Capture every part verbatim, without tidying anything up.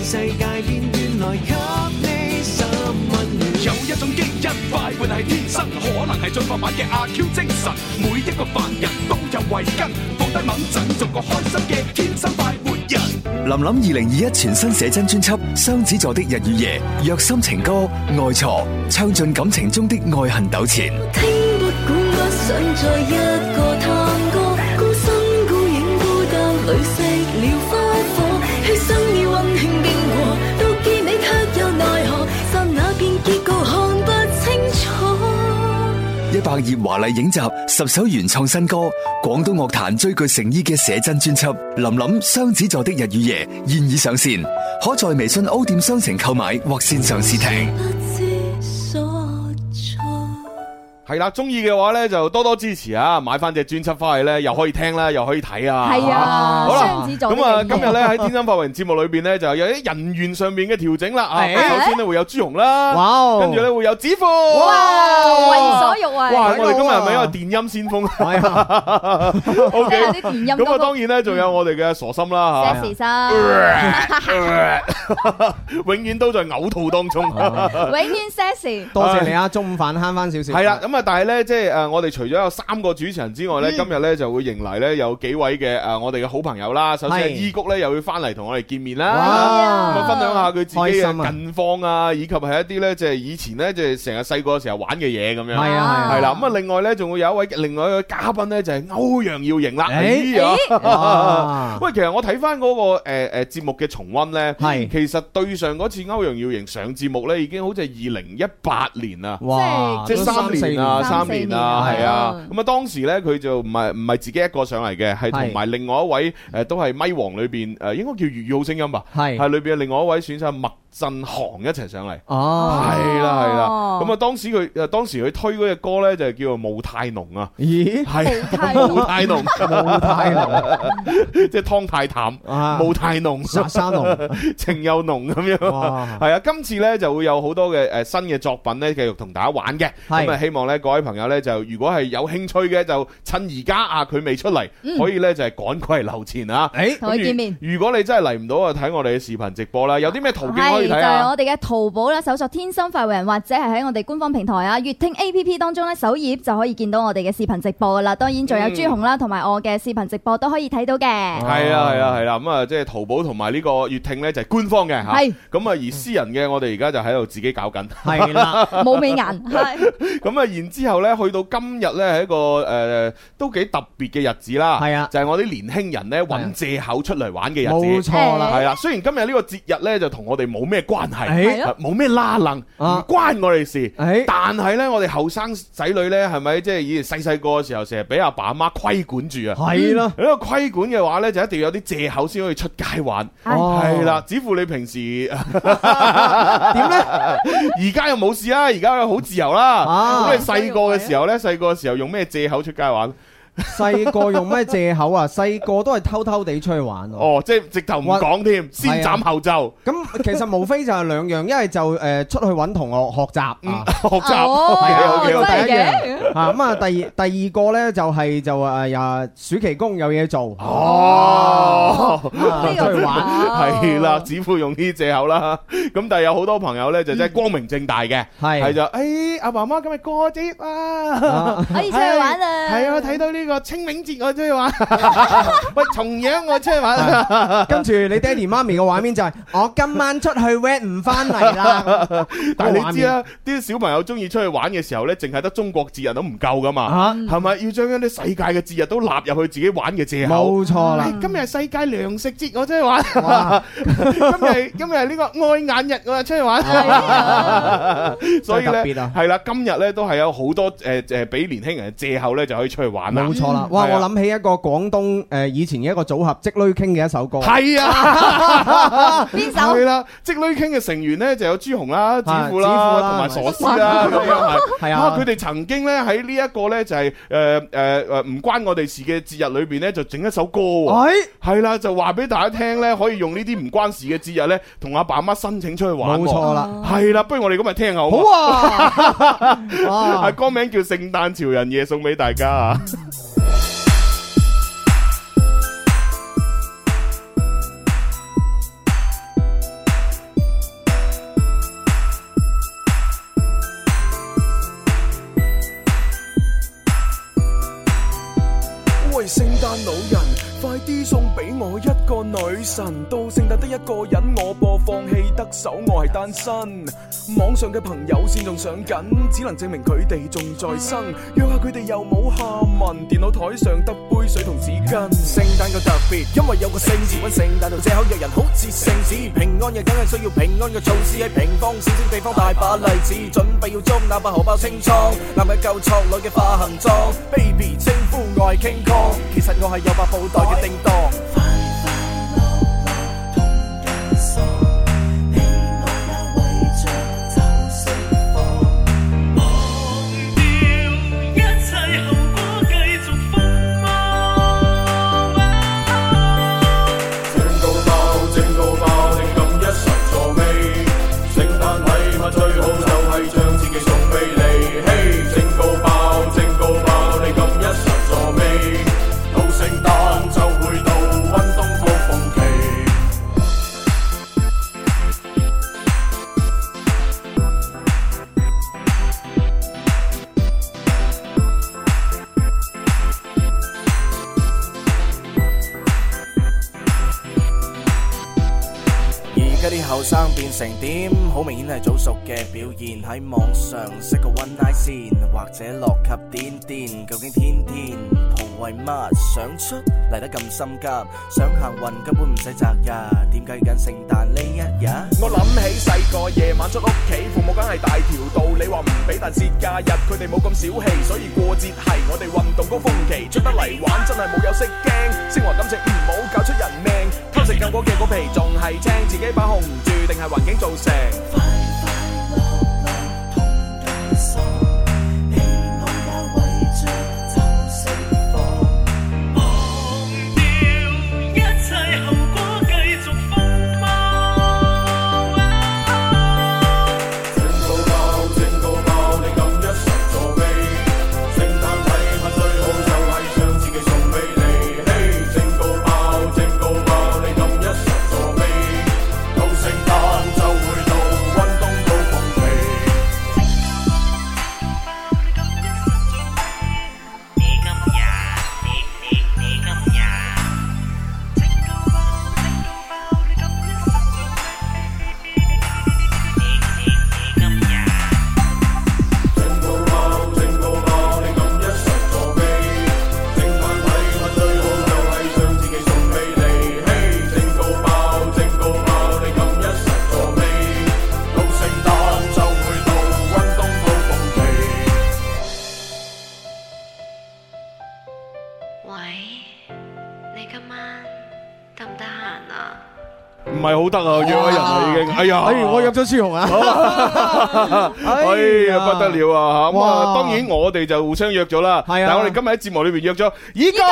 世界變遠來給你十溫暖。 有一種基因快活係天生，可能係進化版嘅阿 Q 精神。每一個凡人都有慧根，放低猛陣，做個開心嘅天生快活人。 林林二零二一全新寫真專輯《雙子座的日與夜》，虐心情歌愛錯，唱盡感情中的愛恨糾纏。 聽不管不想再一個探戈，孤身孤影孤單裏熄了花火，犧牲已溫馨經過，到結尾卻又奈何，剎那變結局看不清楚。 一百頁華麗影集，十首原創新歌，廣東樂壇最具誠意嘅寫真專輯《林林雙子座的日與夜》現已上線，可在微信 O 店商城購買或線上試聽。 係啦，中意嘅話咧就多多支持啊！買翻隻專輯翻去咧，又可以聽啦，又可以睇啊！ 係啊， 好啦， 雙子座咁啊，今日咧喺天生發圍節目裏邊咧，就有啲人員上面嘅調整啦啊！首先咧會有朱紅啦，哇，跟住咧會有子富， 哇，為所欲為！ 哇，我哋今日係咪一個電音先鋒？係啊，O K， 啲電音咁啊，當然咧仲有我哋嘅傻心啦嚇， 心，永遠都在嘔吐當中， 永遠 Sassy。 多謝你啊，中午飯慳翻少少。 係啦，咁啊。但係咧，即係誒，我哋除咗有三個主持人之外咧，今日咧就會迎嚟咧有幾位嘅誒，我哋嘅好朋友啦。首先係伊谷咧，又會翻嚟同我哋見面啦，咁啊分享下佢自己嘅近況啊，以及係一啲咧即係以前咧即係成日細個嘅時候玩嘅嘢咁樣。係啊，係啦。咁啊，另外咧仲會有一位另外一個嘉賓咧，就係歐陽耀瑩啦。哎呀，喂，其實我睇翻嗰個誒誒節目嘅重溫咧，係其實對上嗰次歐陽耀瑩上節目咧，已經好似係二零一八年啦，哇，即係三年啊。三年啊，係啊，咁啊當時咧佢就唔係唔係自己一個上嚟嘅，係同埋另外一位誒都係咪王裏邊誒應該叫粵語好聲音吧，係係裏邊嘅另外一位選手麥振航一齊上嚟，哦，係啦係啦，咁啊當時佢誒當時佢推嗰隻歌咧就係叫做霧太濃啊，咦係霧太濃，霧太濃，即係湯太淡，霧太濃，沙沙濃，情又濃咁樣，係啊，今次咧就會有好多嘅誒新嘅作品咧繼續同大家玩嘅，咁啊希望咧。各位朋友咧，就如果係有興趣嘅，就趁而家啊，佢未出嚟，嗯、可以咧就係趕快留前啊！誒，同佢見面。如果你真係嚟唔到啊，睇我哋嘅視頻直播啦，有啲咩途徑可以睇啊？ 就係、是、我哋嘅淘寶啦，搜索天生快活人，或者係喺我哋官方平台啊，粵聽 A P P 當中咧，首頁就可以見到我哋嘅視頻直播噶啦。當然仲有朱紅啦，同埋我嘅視頻直播都可以睇到嘅。係啊係啊係啦，咁啊即係淘寶同埋呢個粵聽咧就係官方嘅嚇。係。咁啊而私人嘅我哋而家就喺度自己搞緊。係啦， 冇美顏。係。 咁啊然之後咧，去到今日咧係一個誒都幾特別嘅日子啦。係啊，就係我啲年輕人咧揾藉口出嚟玩嘅日子。冇錯啦，係啦。雖然今日呢個節日咧就同我哋冇咩關係，冇咩拉楞，唔關我哋事。但係咧，我哋後生仔女咧係咪即係以前細細個嘅時候，成日俾阿爸阿媽規管住啊？係咯。呢個規管嘅話咧，就一定要有啲藉口先可以出街玩。係啦，只乎你平時點咧？而家又冇事啦，而家又好自由啦。咁你細個嘅時候咧，細個嘅時候用咩藉口出街玩？ 細個用咩藉口啊？細個都係偷偷地出去玩。 哦，即係直頭唔講添，先斬後奏。 咁其實無非就係兩樣，一係就誒出去揾同學學習， 學習係啊， 第一樣啊。咁啊，第二第二個咧就係就誒呀暑期工有嘢做。 哦， 出去玩係啦，只會用呢啲藉口啦。咁但係有好多朋友咧就真係光明正大嘅，係就誒阿爸媽今日過節啊， 可以出去玩啊。 係啊，睇到呢個清明節我出去玩，喂重陽我出去玩， 跟住你爹哋媽咪嘅畫面就係我今晚出去 wet 唔翻嚟啦。 但係你知啦，啲小朋友中意出去玩嘅時候咧，淨係得中國節日都唔夠噶嘛，係咪要將一啲世界嘅節日都納入去自己玩嘅藉口？冇錯啦，今日係世界糧食節我出去玩，今日今日係呢個愛眼日我出去玩，所以咧係啦，今日咧都係有好多誒誒俾年輕人嘅藉口咧就可以出去玩啦。冇錯啦，哇！我諗起一個廣東誒以前嘅一個組合，積女傾嘅一首歌。係啊，邊首？係啦，積女傾嘅成員咧就有朱紅啦、子富啦、同埋傻師啦，咁樣係。係啊，佢哋曾經咧喺呢一個咧就係誒誒誒唔關我哋事嘅節日裏邊咧，就整一首歌喎。係係啦，就話俾大家聽咧，可以用呢啲唔關事嘅節日咧，同阿爸阿媽申請出去玩。冇錯啦，係啦，不如我哋今日聽下好唔好？好啊！係歌名叫《聖誕潮人夜》，送俾大家啊！ 我一個女神，到聖誕得一個人，我播放棄得手，我係單身。網上嘅朋友線仲上緊，只能證明佢哋仲在生。約下佢哋又冇下文，電腦台上得杯水同紙巾。聖誕夠特別，因為有個聖字揾聖誕度借口約人，好似聖子。平安夜梗係需要平安嘅措施，喺平方小小地方大把例子，準備要捉哪怕荷包清倉，男嘅夠錯，女嘅化行妝。Baby 稱呼我係 King Kong，其實我係有白布袋嘅叮當。後生變成點？好明顯係早熟嘅表現。喺網上識個 one night 先，或者落級癲癲。究竟天天蒲為乜？想出嚟得咁心急，想行運根本唔使擇日。點解緊聖誕呢一日？我諗起細個夜晚出屋企，父母梗係大條道理話唔俾，但節假日佢哋冇咁小氣，所以過節係我哋運動高峰期。出得嚟玩真係冇有識驚，升華感情唔好搞出人命。偷食夠果嘅果皮仲係青，自己把控唔住定係環境造成。快快樂樂同對數，你我也為着就釋放，忘掉一切後果繼續瘋魔。正高爆正高爆，你咁一實助味，聖誕禮物最好就係將自己送俾你。嘿，正高爆正高爆，你咁一實助味，到聖誕就會到溫冬高峰期。你今日你你你今日正高爆正高爆，你咁一實助味，你你你今日正高爆正高爆，你咁一實助味，聖誕禮物最好就係將自己送俾你。嘿，正高爆正高爆，你咁一實助味，到聖誕就會到溫冬高峰期。 喂，你今晚得唔得閒啊？ 唔係好得啊，約咗人啦已經。哎呀， 哎，我約咗朱紅啊！ 哎呀，不得了啊！吓咁啊， 哇當然我哋就互相約咗啦。 係啊但係我哋今日喺節目裏邊約咗依哥。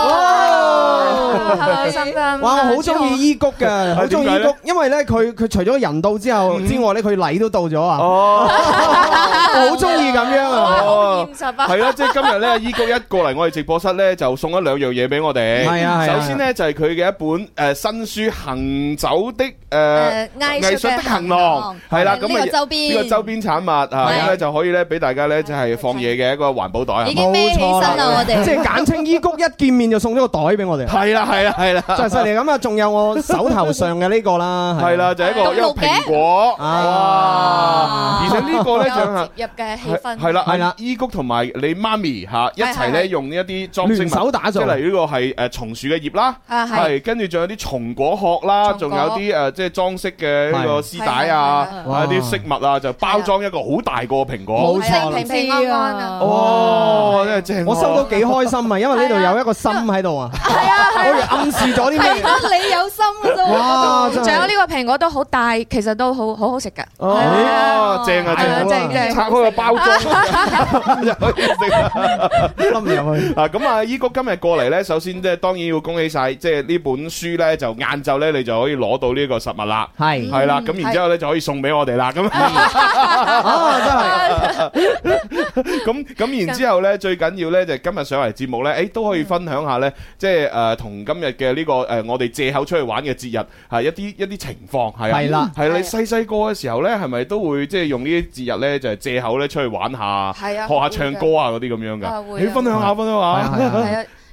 開心啊！ 哇，我好中意依谷嘅，好中意依谷，因為咧佢佢除咗人到之後之外咧，佢禮都到咗啊！ 哦， 我好中意咁樣啊！ 哦， 現實啊！ 係啦，即係今日咧，依谷一過嚟我哋直播室咧，就送咗兩樣嘢俾我哋。 係啊係啊首先咧就係佢嘅一本誒新書《行走的誒誒藝術嘅的行行囊囊》， 係啦，咁呢個周邊呢個周邊產物啊，咁咧就可以咧俾大家咧就係放嘢嘅一個環保袋啊。 已經孭起身啦，我哋即係簡稱依谷，一見面就送咗個袋俾我哋。 係啦係啦係啦， 真係犀利咁啊！仲有我手頭上嘅呢個啦， 係啦，就係一個一個蘋果啊！ 而且呢個咧就係入嘅氣氛係啦係啦， 依谷同埋你媽咪嚇一齊咧用呢一啲裝飾物聯手打造即係例如呢個係誒松樹嘅葉啦， 啊係係跟住仲有啲松果殼啦，仲有啲誒即係裝飾嘅呢個絲帶啊， 係啊啲飾物啊，就包裝一個好大個蘋果。 冇錯啦平平安安啊！ 哦，真係正喎！ 我收到幾開心啊，因為呢度有一個心喺度啊， 係啊我以為暗示咗啲咩？ 係得你有心嘅啫喎。 哇！真係仲有呢個蘋果都好大，其實都好好好食㗎。 哦，正啊係啊正啊， 正正拆開個包裝就可以食啦。 冧入去。 啊，咁啊，依谷今日過嚟咧，首先即係當然要恭喜晒，即係呢本書咧就晏晝咧你就可以攞到呢個實物啦。 係係啦，咁然之後咧就可以送俾我哋啦。咁啊，真係咁咁然之後咧，最緊要咧就係今日上嚟節目咧，誒都可以分享下咧，即係誒同今日嘅呢個誒我哋借口出去玩嘅節日係一啲一啲情況係啊。 係啦係你細細個嘅時候咧，係咪都會即係用呢啲節日咧，就係借口咧出去玩下， 係啊學下唱歌啊嗰啲咁樣㗎？ 啊會啊你分享下分享下。 係啊係啊係啊，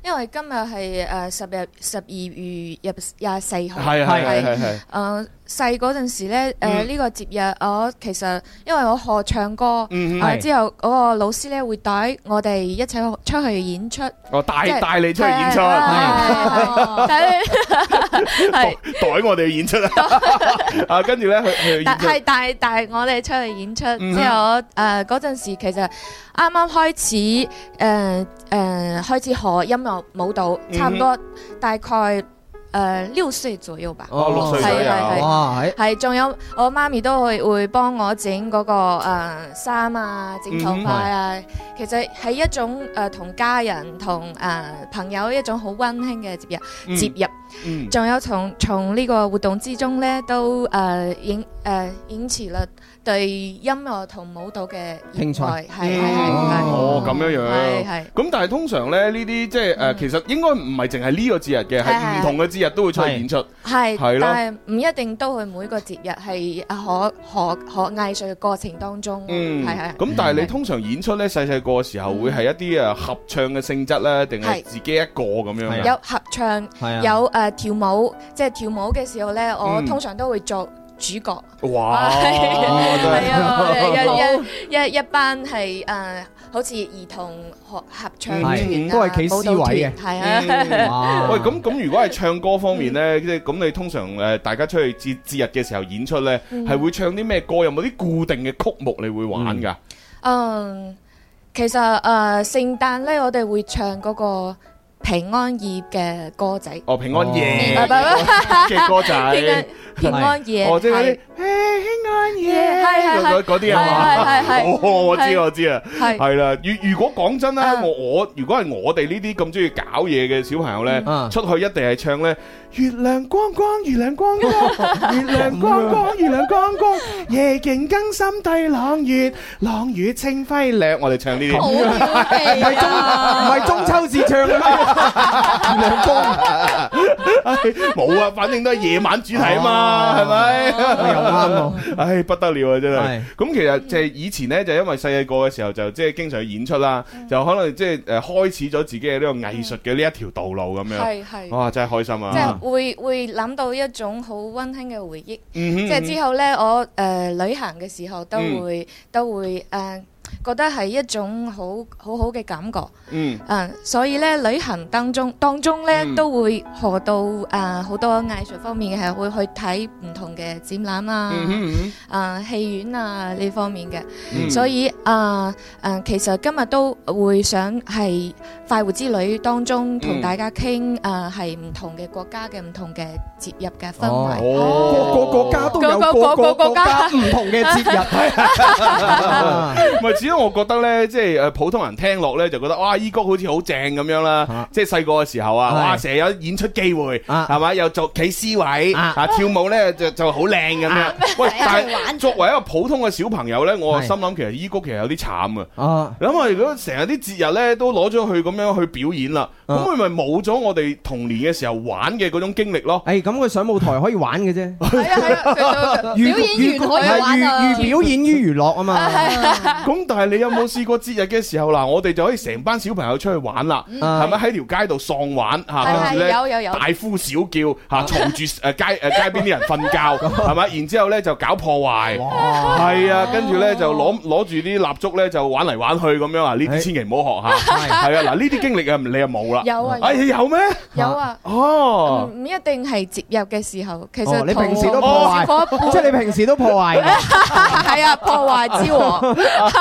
因為今日係誒十日十二月廿廿四號， 係係係係誒細嗰陣時咧，誒呢個節日我其實因為我學唱歌，誒之後嗰個老師咧會帶我哋一齊出去演出， 哦帶帶你出去演出， 帶帶我哋去演出啊！啊跟住咧去去演出， 係帶帶我哋出去演出，之後誒嗰陣時其實啱啱開始誒誒開始學音樂舞蹈，差唔多大概。誒六歲左右吧， 哦六歲左右， 哇係， 係仲有我媽咪都會會幫我整嗰個誒衫啊，整頭髮啊，其實係一種誒同家人同誒朋友一種好溫馨嘅節日節日，仲有從從呢個活動之中咧都誒引誒引起了對音樂同舞蹈嘅興趣，係係係哦咁樣樣， 係係咁但係通常咧呢啲即係誒其實應該唔係淨係呢個節日嘅，係唔同嘅節日都會出去演出， 係係咯， 但係唔一定都係每個節日係學學學藝術嘅過程當中， 嗯係係。 咁但係你通常演出咧細細個嘅時候會係一啲誒合唱嘅性質咧，定係自己一個咁樣嘅？ 有合唱，有誒跳舞，即係跳舞嘅時候咧，我通常都會做主角。 哇！ 係啊，一一一一班係誒，好似兒童學合唱團都係企 C 位嘅， 係啊。 喂，咁咁如果係唱歌方面咧，即係咁你通常誒大家出去節節日嘅時候演出咧，係會唱啲咩歌？有冇啲固定嘅曲目你會玩㗎？ 嗯，其實誒聖誕咧，我哋會唱嗰個平安夜嘅歌仔。 哦，平安夜嘅歌仔， 平安夜， 哦，即係嗰啲平安夜，係係係嗰啲啊嘛，係係，哦，我知我知啊，係係啦。如如果講真咧，我我如果係我哋呢啲咁中意搞嘢嘅小朋友咧，出去一定係唱咧。月亮光光，月亮光光，月亮光光，月亮光光，夜景更深對朗月，朗月清輝亮。我哋唱呢啲， 唔係中唔係中秋節唱嘅咩？月亮光， 冇啊，反正都係夜晚主題啊嘛，係咪？ 又啱喎， 唉，不得了啊，真係。咁其實即係以前咧，就因為細細個嘅時候就即係經常去演出啦，就可能即係誒開始咗自己嘅呢個藝術嘅呢一條道路咁樣。係係，哇，真係開心啊！ 會會諗到一種好溫馨嘅回憶，即係之後呢，我誒旅行嘅時候都會都會誒覺得係一種好好好嘅感覺，嗯，所以呢旅行當中當中呢都會學到誒好多藝術方面嘅，係會去睇唔同嘅展覽啊，誒戲院啊呢方面嘅，所以誒誒其實今日都會想係快活之旅當中同大家傾誒係唔同嘅國家嘅唔同嘅節日嘅氛圍， 個個國家都有個個國家唔同嘅節日， 唔係，只係我覺得咧，即係誒普通人聽落咧就覺得哇，依谷好似好正咁樣啦，即係細個嘅時候啊，哇，成日有演出機會，係嘛，又做企 C 位，啊跳舞咧就就好靚咁樣。喂，但係作為一個普通嘅小朋友咧，我心諗其實依谷其實有啲慘啊。諗下如果成日啲節日咧都攞咗去咁樣去表演啦，咁佢咪冇咗我哋童年嘅時候玩嘅嗰種經歷咯。 誒，咁佢上舞台可以玩嘅啫。 係啊係啊，表演完可以玩啊。 寓表演於娛樂啊嘛。 咁但係你有冇試過節日嘅時候嗱，我哋就可以成班小朋友出去玩啦，係咪喺條街度喪玩嚇？跟住咧大呼小叫嚇，嘈住誒街誒街邊啲人瞓覺，係咪？然之後咧就搞破壞，係啊，跟住咧就攞攞住啲蠟燭咧就玩嚟玩去咁樣啊！呢啲千祈唔好學嚇，係啊！嗱，呢啲經歷啊，你又冇啦。 有啊， 哎有咩？ 有啊。 哦， 唔一定係節日嘅時候，其實你平時都破壞，即係你平時都破壞。 係啊，破壞之王。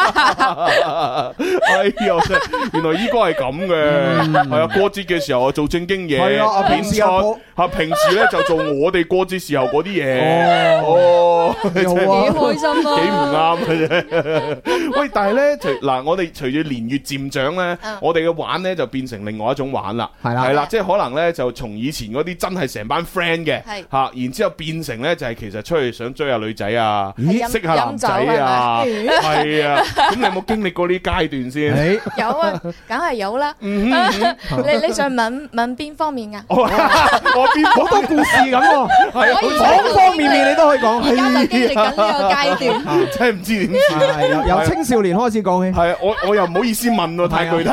哎呀，原來依個係咁嘅，係啊，過節嘅時候做正經嘢， 係啊， 平時嚇平時咧就做我哋過節時候嗰啲嘢，哦，幾開心啊， 幾唔啱嘅啫。喂，但係咧，隨嗱我哋隨住年月漸長咧，我哋嘅玩咧就變成另外一種玩啦，係啦，係啦，即係可能咧就從以前嗰啲真係成班 friend 嘅嚇，然之後變成咧就係其實出去想追下女仔啊，識下男仔啊，係啊，咁你有冇經歷過呢啲階段先？ 有啊，梗係有啦。你你想問問邊方面啊？ 我邊好多故事咁喎，係方方面面你都可以講。係啊， 就經歷緊呢個階段， 真係唔知點係由由青少年開始講起。 係我我又唔好意思問喎，太具體。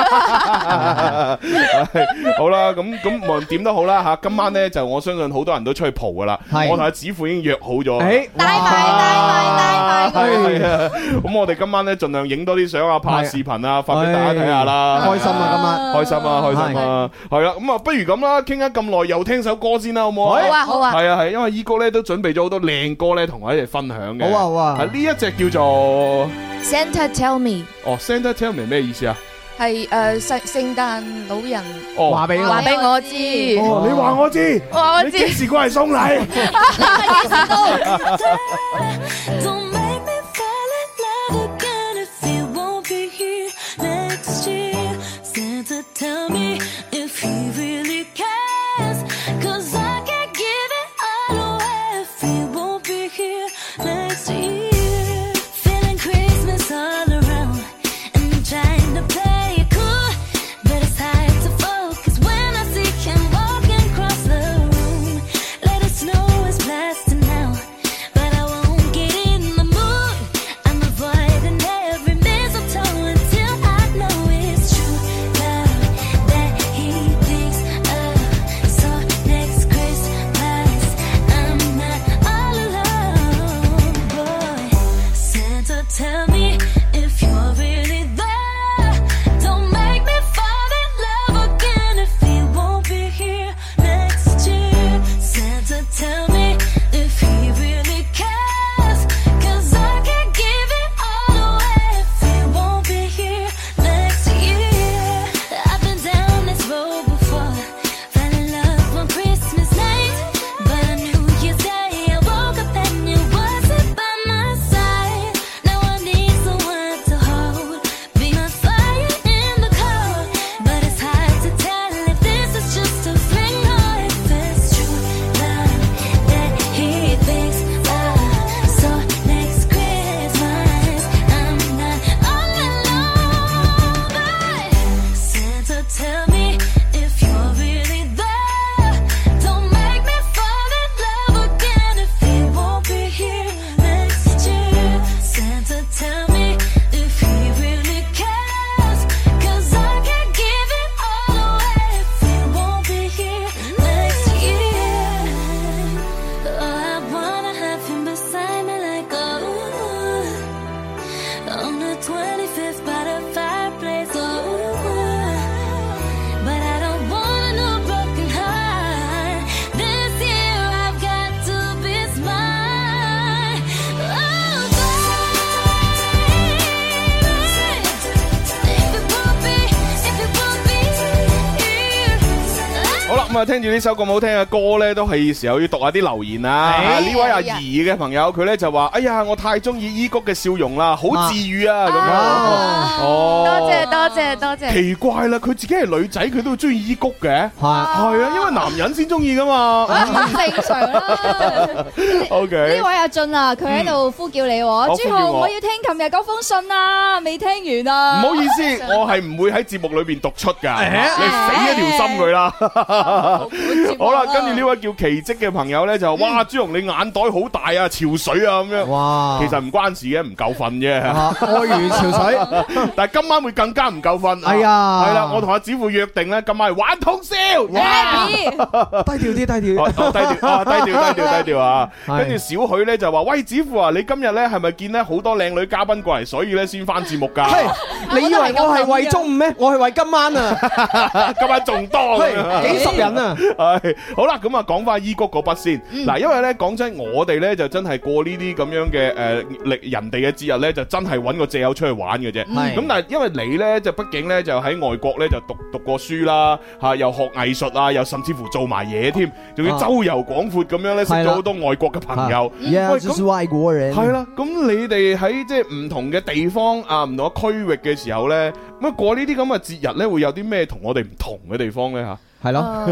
好啦，咁咁無論點都好啦嚇，今晚咧就我相信好多人都出去蒲噶啦。我同阿子富已經約好咗。誒， 帶埋帶埋帶埋。 係啊，咁我哋今晚咧盡量影多啲相啊，拍視頻啊，發俾大家睇下啦。 開心啊，今晚開心啊，開心啊，係啦，咁啊，不如咁啦，傾咗咁耐，又聽首歌先啦，好唔好啊？ 好啊，好啊。 係啊，係，因為依哥咧都準備咗好多靚歌咧，同我一齊分享嘅。 好啊，好啊。 係呢一隻叫做 Santa Tell Me。 哦 ，Santa Tell Me 咩意思啊？ 係誒聖聖誕老人話俾話俾我知。 哦，你話我知， 話我知。 你幾時過嚟送禮？聽住呢首咁好聽嘅歌咧，都係時候要讀下啲留言啊！呢位阿怡嘅朋友，佢咧就話：哎呀，我太中意依谷嘅笑容啦，好治愈啊！咁樣哦， 多謝多謝多謝。 奇怪啦，佢自己係女仔，佢都會中意依谷嘅，係係啊，因為男人先中意噶嘛， 正常啦。 OK， 呢位阿俊啊，佢喺度呼叫你，朱浩，我要聽琴日嗰封信啊，未聽完啊！ 唔好意思，我係唔會喺節目裏邊讀出噶，你死一條心佢啦。好啦，跟住呢位叫奇蹟嘅朋友咧就哇，朱紅你眼袋好大啊，潮水啊咁樣。哇，其實唔關事嘅，唔夠瞓啫。 愛如潮水， 但係今晚會更加唔夠瞓。 係啊， 係啦，我同阿子富約定咧，今晚係玩通宵。 低調啲，低調。 低調，低調，低調，低調啊！跟住小許咧就話：喂，子富啊，你今日咧係咪見咧好多靚女嘉賓過嚟，所以咧先翻節目噶？ 你以為我係為中午咩？我係為今晚啊！ 今晚仲多， 幾十人啊！ 係好啦，咁啊講翻伊谷嗰筆先。嗱，因為咧講真，我哋咧就真係過呢啲咁樣嘅誒，歷人哋嘅節日咧，就真係揾個藉口出去玩嘅啫。咁但係因為你咧就畢竟咧就喺外國咧就讀讀過書啦，吓又學藝術啊，又甚至乎做埋嘢添，仲要周遊廣闊咁樣咧，識咗好多外國嘅朋友。 喂，咁外國人係啦，咁你哋喺即係唔同嘅地方啊，唔同嘅區域嘅時候咧，咁啊過呢啲咁嘅節日咧，會有啲咩同我哋唔同嘅地方咧吓？ 係咯。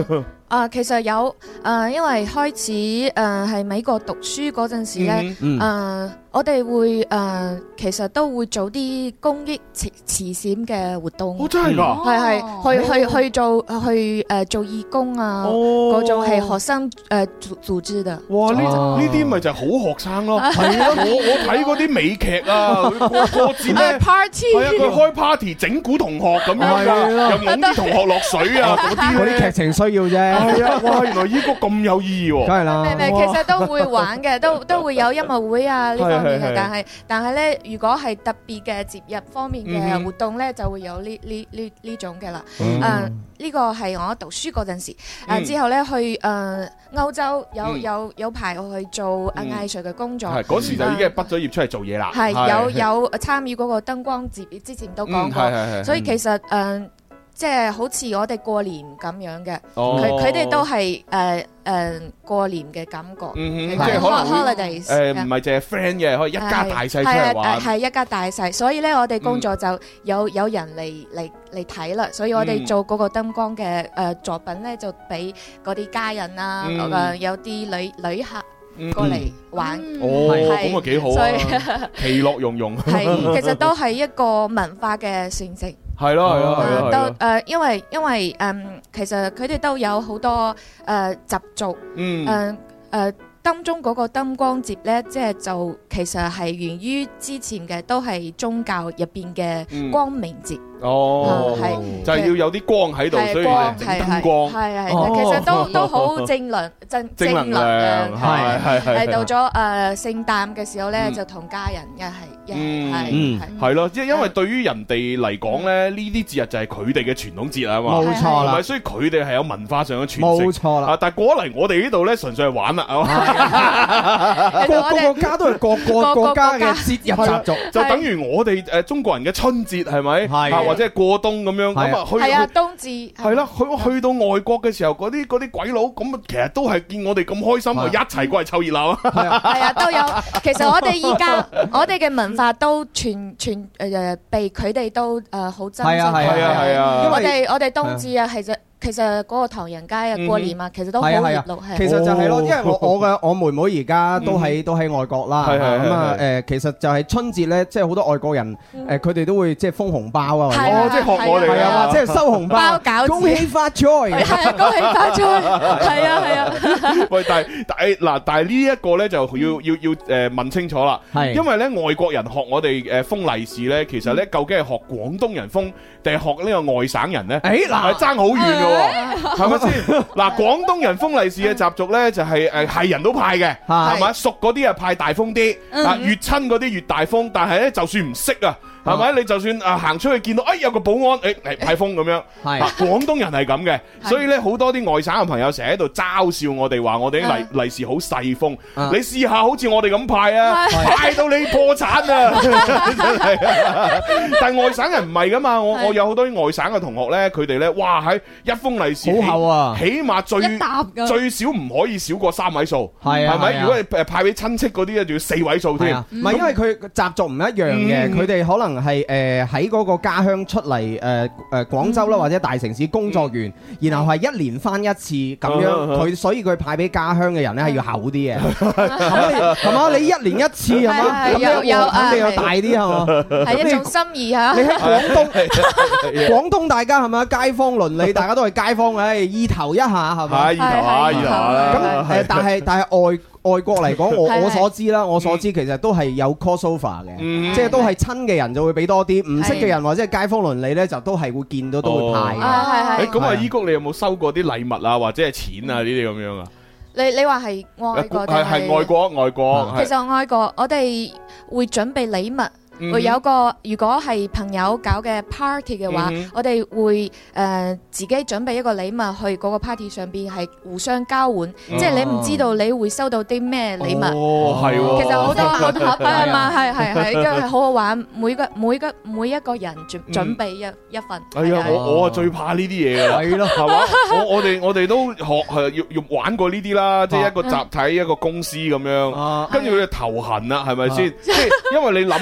啊，其實有誒，因為開始誒喺美國讀書嗰陣時咧，誒我哋會誒其實都會做啲公益慈慈善嘅活動。 哦，真係㗎！ 係係去去去做去誒做義工啊，嗰種係學生誒組組織嘅。 哇！呢呢啲咪就係好學生咯。係啊，我我睇嗰啲美劇啊，過過節咧 party， 係啊，佢開 party 整蠱同學咁樣㗎，又擁啲同學落水啊嗰啲。 嗰啲劇情需要啫。 係啊！哇，原來依個咁有意義喎。 梗係啦。 唔係唔係，其實都會玩嘅，都都會有音樂會啊呢方面嘅，但係但係咧，如果係特別嘅節日方面嘅活動咧，就會有呢呢呢呢種嘅啦。誒，呢個係我讀書嗰陣時，誒之後咧去誒歐洲有有有排我去做誒藝術嘅工作。 係嗰時就已經係畢咗業出嚟做嘢啦。 係有有參與嗰個燈光節，之前都講過，所以其實誒。即係好似我哋過年咁樣嘅，佢佢哋都係誒誒過年嘅感覺， 即係可能 holidays 誒唔係淨係 friend 嘅，可以一家大細出嚟玩， 係一家大細，所以咧我哋工作就有有人嚟嚟嚟睇啦，所以我哋做嗰個燈光嘅誒作品咧，就俾嗰啲家人啊，誒有啲旅旅客過嚟玩， 哦，咁啊幾好啊，其樂融融， 係其實都係一個文化嘅傳承。 係咯係咯係咯， 都誒，因為因為誒，其實佢哋都有好多誒習俗，誒誒，當中嗰個燈光節咧，即係就其實係源於之前嘅，都係宗教入邊嘅光明節。 哦，係就係要有啲光喺度，所以整燈光。係係， 其實都都好正能正正能量。係係係。係到咗誒聖誕嘅時候咧，就同家人一係。 嗯，係係咯，即係因為對於人哋嚟講咧，呢啲節日就係佢哋嘅傳統節啊嘛， 冇錯啦， 所以佢哋係有文化上嘅傳承， 冇錯啦。 但係過嚟我哋呢度咧，純粹係玩啦，係嘛， 個個國家都係各個國家嘅節日習俗， 就等於我哋誒中國人嘅春節係咪？係或者係過冬咁樣咁啊？去係啊，冬至係啦，去去到外國嘅時候，嗰啲嗰啲鬼佬咁啊，其實都係見我哋咁開心，一齊過嚟湊熱鬧啊！ 係啊，都有。其實我哋依家我哋嘅文化都全全誒被佢哋都誒好珍惜。係啊係啊係啊！我哋我哋冬至啊，其實其實嗰個唐人街啊過年啊，其實都好熱鬧。 其實就係咯，因為我我嘅我妹妹而家都喺都喺外國啦。咁啊誒，其實就係春節咧，即係好多外國人誒，佢哋都會即係封紅包啊， 哦，即係學我哋係啊，即係收紅包，恭喜發財， 係恭喜發財，係啊係啊。 喂，但係但係嗱，但係呢一個咧就要要要誒問清楚啦，係因為咧外國人學我哋誒封利是咧，其實咧究竟係學廣東人封定係學呢個外省人咧？誒嗱，係爭好遠嘅。係咪先？嗱，廣東人封利是嘅習俗咧，就係誒係人都派嘅，係咪？熟嗰啲啊派大封啲，啊越親嗰啲越大封。但係咧，就算唔識啊，係咪？你就算啊行出去見到，哎有個保安，誒嚟派封咁樣。係廣東人係咁嘅，所以咧好多啲外省嘅朋友成日喺度嘲笑我哋，話我哋啲利利是好細封。你試下好似我哋咁派啊，派到你破產啊！真係。但係外省人唔係噶嘛，我我有好多啲外省嘅同學咧，佢哋咧，哇喺一封利是好厚啊， 起碼最最少唔可以少過三位數，係係咪？如果你誒派俾親戚嗰啲咧，仲要四位數添。 唔係因為佢習俗唔一樣嘅，佢哋可能係誒喺嗰個家鄉出嚟誒誒廣州啦或者大城市工作完，然後係一年翻一次咁樣，佢所以佢派俾家鄉嘅人咧係要厚啲嘅，係嘛？你一年一次係嘛？咁樣有肯定有大啲係嘛？ 係一種心意嚇。 你喺廣東，廣東大家係咪街坊鄰里，大家都係街坊，誒意頭一下係咪？ 意頭下，意頭下啦。 咁誒，但係但係外外國嚟講，我我所知啦，我所知其實都係有 crossover 嘅，即係都係親嘅人就會俾多啲，唔識嘅人或者係街坊鄰里咧，就都係會見到都會派嘅。 係係。 咁啊，依谷你有冇收過啲禮物啊，或者係錢啊呢啲咁樣啊？ 你你話係外國定係？ 係外國外國。 其實外國我哋會準備禮物。會有個如果係朋友搞嘅 party 嘅話，我哋會誒自己準備一個禮物去嗰個 party 上邊係互相交換，即係你唔知道你會收到啲咩禮物。 哦，係喎。 其實好多好多係嘛，係係係，因為好好玩。每個每個每一個人準準備一一份。 哎呀，我我啊最怕呢啲嘢㗎。係咯，係嘛？我我哋我哋都學係要要玩過呢啲啦，即係一個集體一個公司咁樣，跟住佢哋頭痕啦，係咪先？即係因為你諗啦。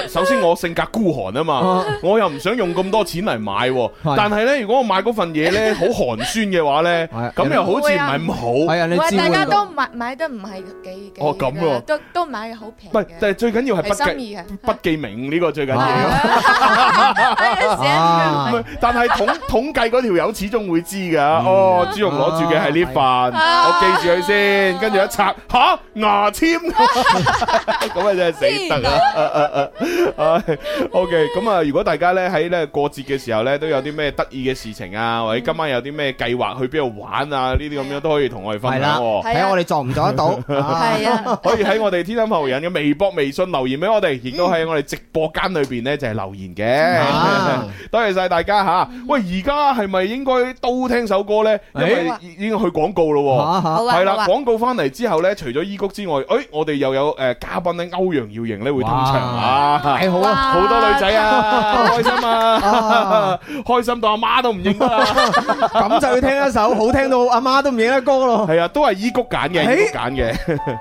首先我性格孤寒啊嘛，我又唔想用咁多錢嚟買，但係咧如果我買嗰份嘢咧好寒酸嘅話咧，咁又好似唔係咁好。係啊， 你知大家都買買得唔係幾幾哦咁喎， 都都買好平。 唔係，但係最緊要係不記不記名呢個最緊要。但係統統計嗰條友始終會知㗎。哦，朱紅攞住嘅係呢份，我記住佢先，跟住一拆吓牙籤，咁啊真係死得啊！啊，OK，咁啊，如果大家咧喺咧過節嘅時候咧，都有啲咩得意嘅事情啊，或者今晚有啲咩計劃去邊度玩啊，呢啲咁樣都可以同我哋分享。 睇下我哋做唔做得到。 係啊， 可以喺我哋天生浮人嘅微博、微信留言俾我哋，亦都喺我哋直播間裏邊咧就係留言嘅。多謝晒大家吓。喂，而家係咪應該都聽首歌咧？因為已經去廣告咯。係啦，廣告翻嚟之後咧，除咗依谷之外，誒，我哋又有誒嘉賓咧，歐陽耀瑩咧會登場啊！ 太好啦， 好多女仔啊，開心啊，開心到阿媽都唔認得啦。 咁就要聽一首好聽到阿媽都唔認得歌咯。 係啊，都係依谷揀嘅，依谷揀嘅。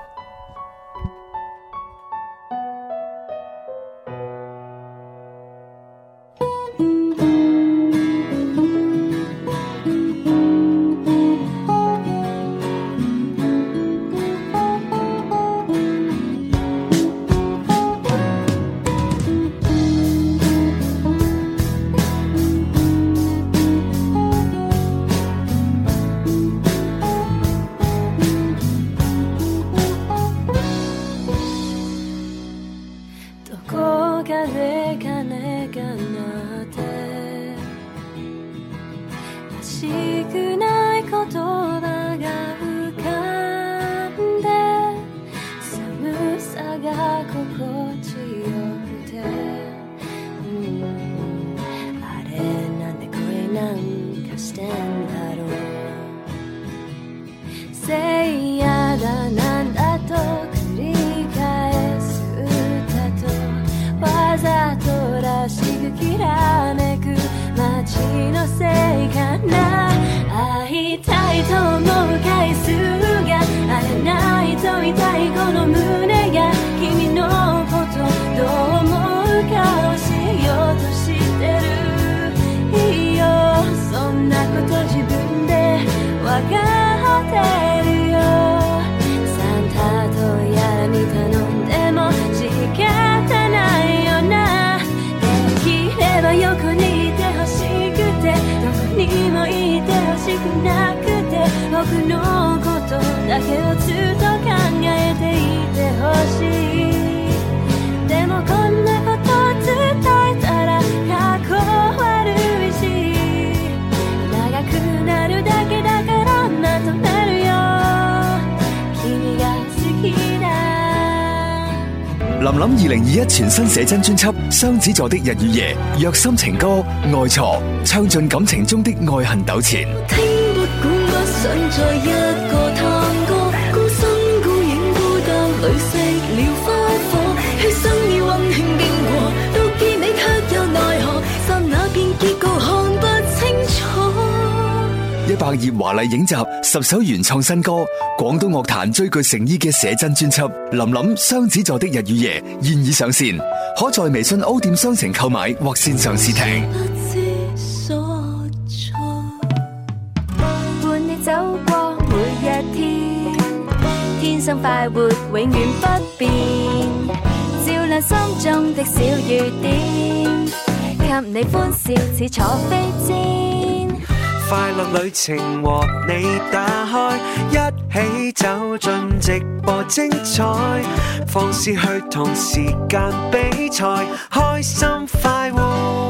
林林二零二一全新寫真專輯《雙子座的日與夜》，虐心情歌愛錯，唱盡感情中的愛恨糾纏。 聽不管不想再一個探戈，孤身孤影孤單裏熄了花火，血生已溫馨經過，到結尾卻又奈何，剎那變結局看不清楚。 一百頁華麗影集，十首原創新歌，廣東樂壇最具誠意嘅寫真專輯《林林雙子座的日與夜》現已上線，可在微信 O 店商城購買或線上試聽。 不知所措，伴你走過每一天，天生快活永遠不變，照亮心中的小雨點，給你歡笑似坐飛氈。 快樂旅程和你打開，一起走進直播精彩，放肆去同時間比賽，開心快活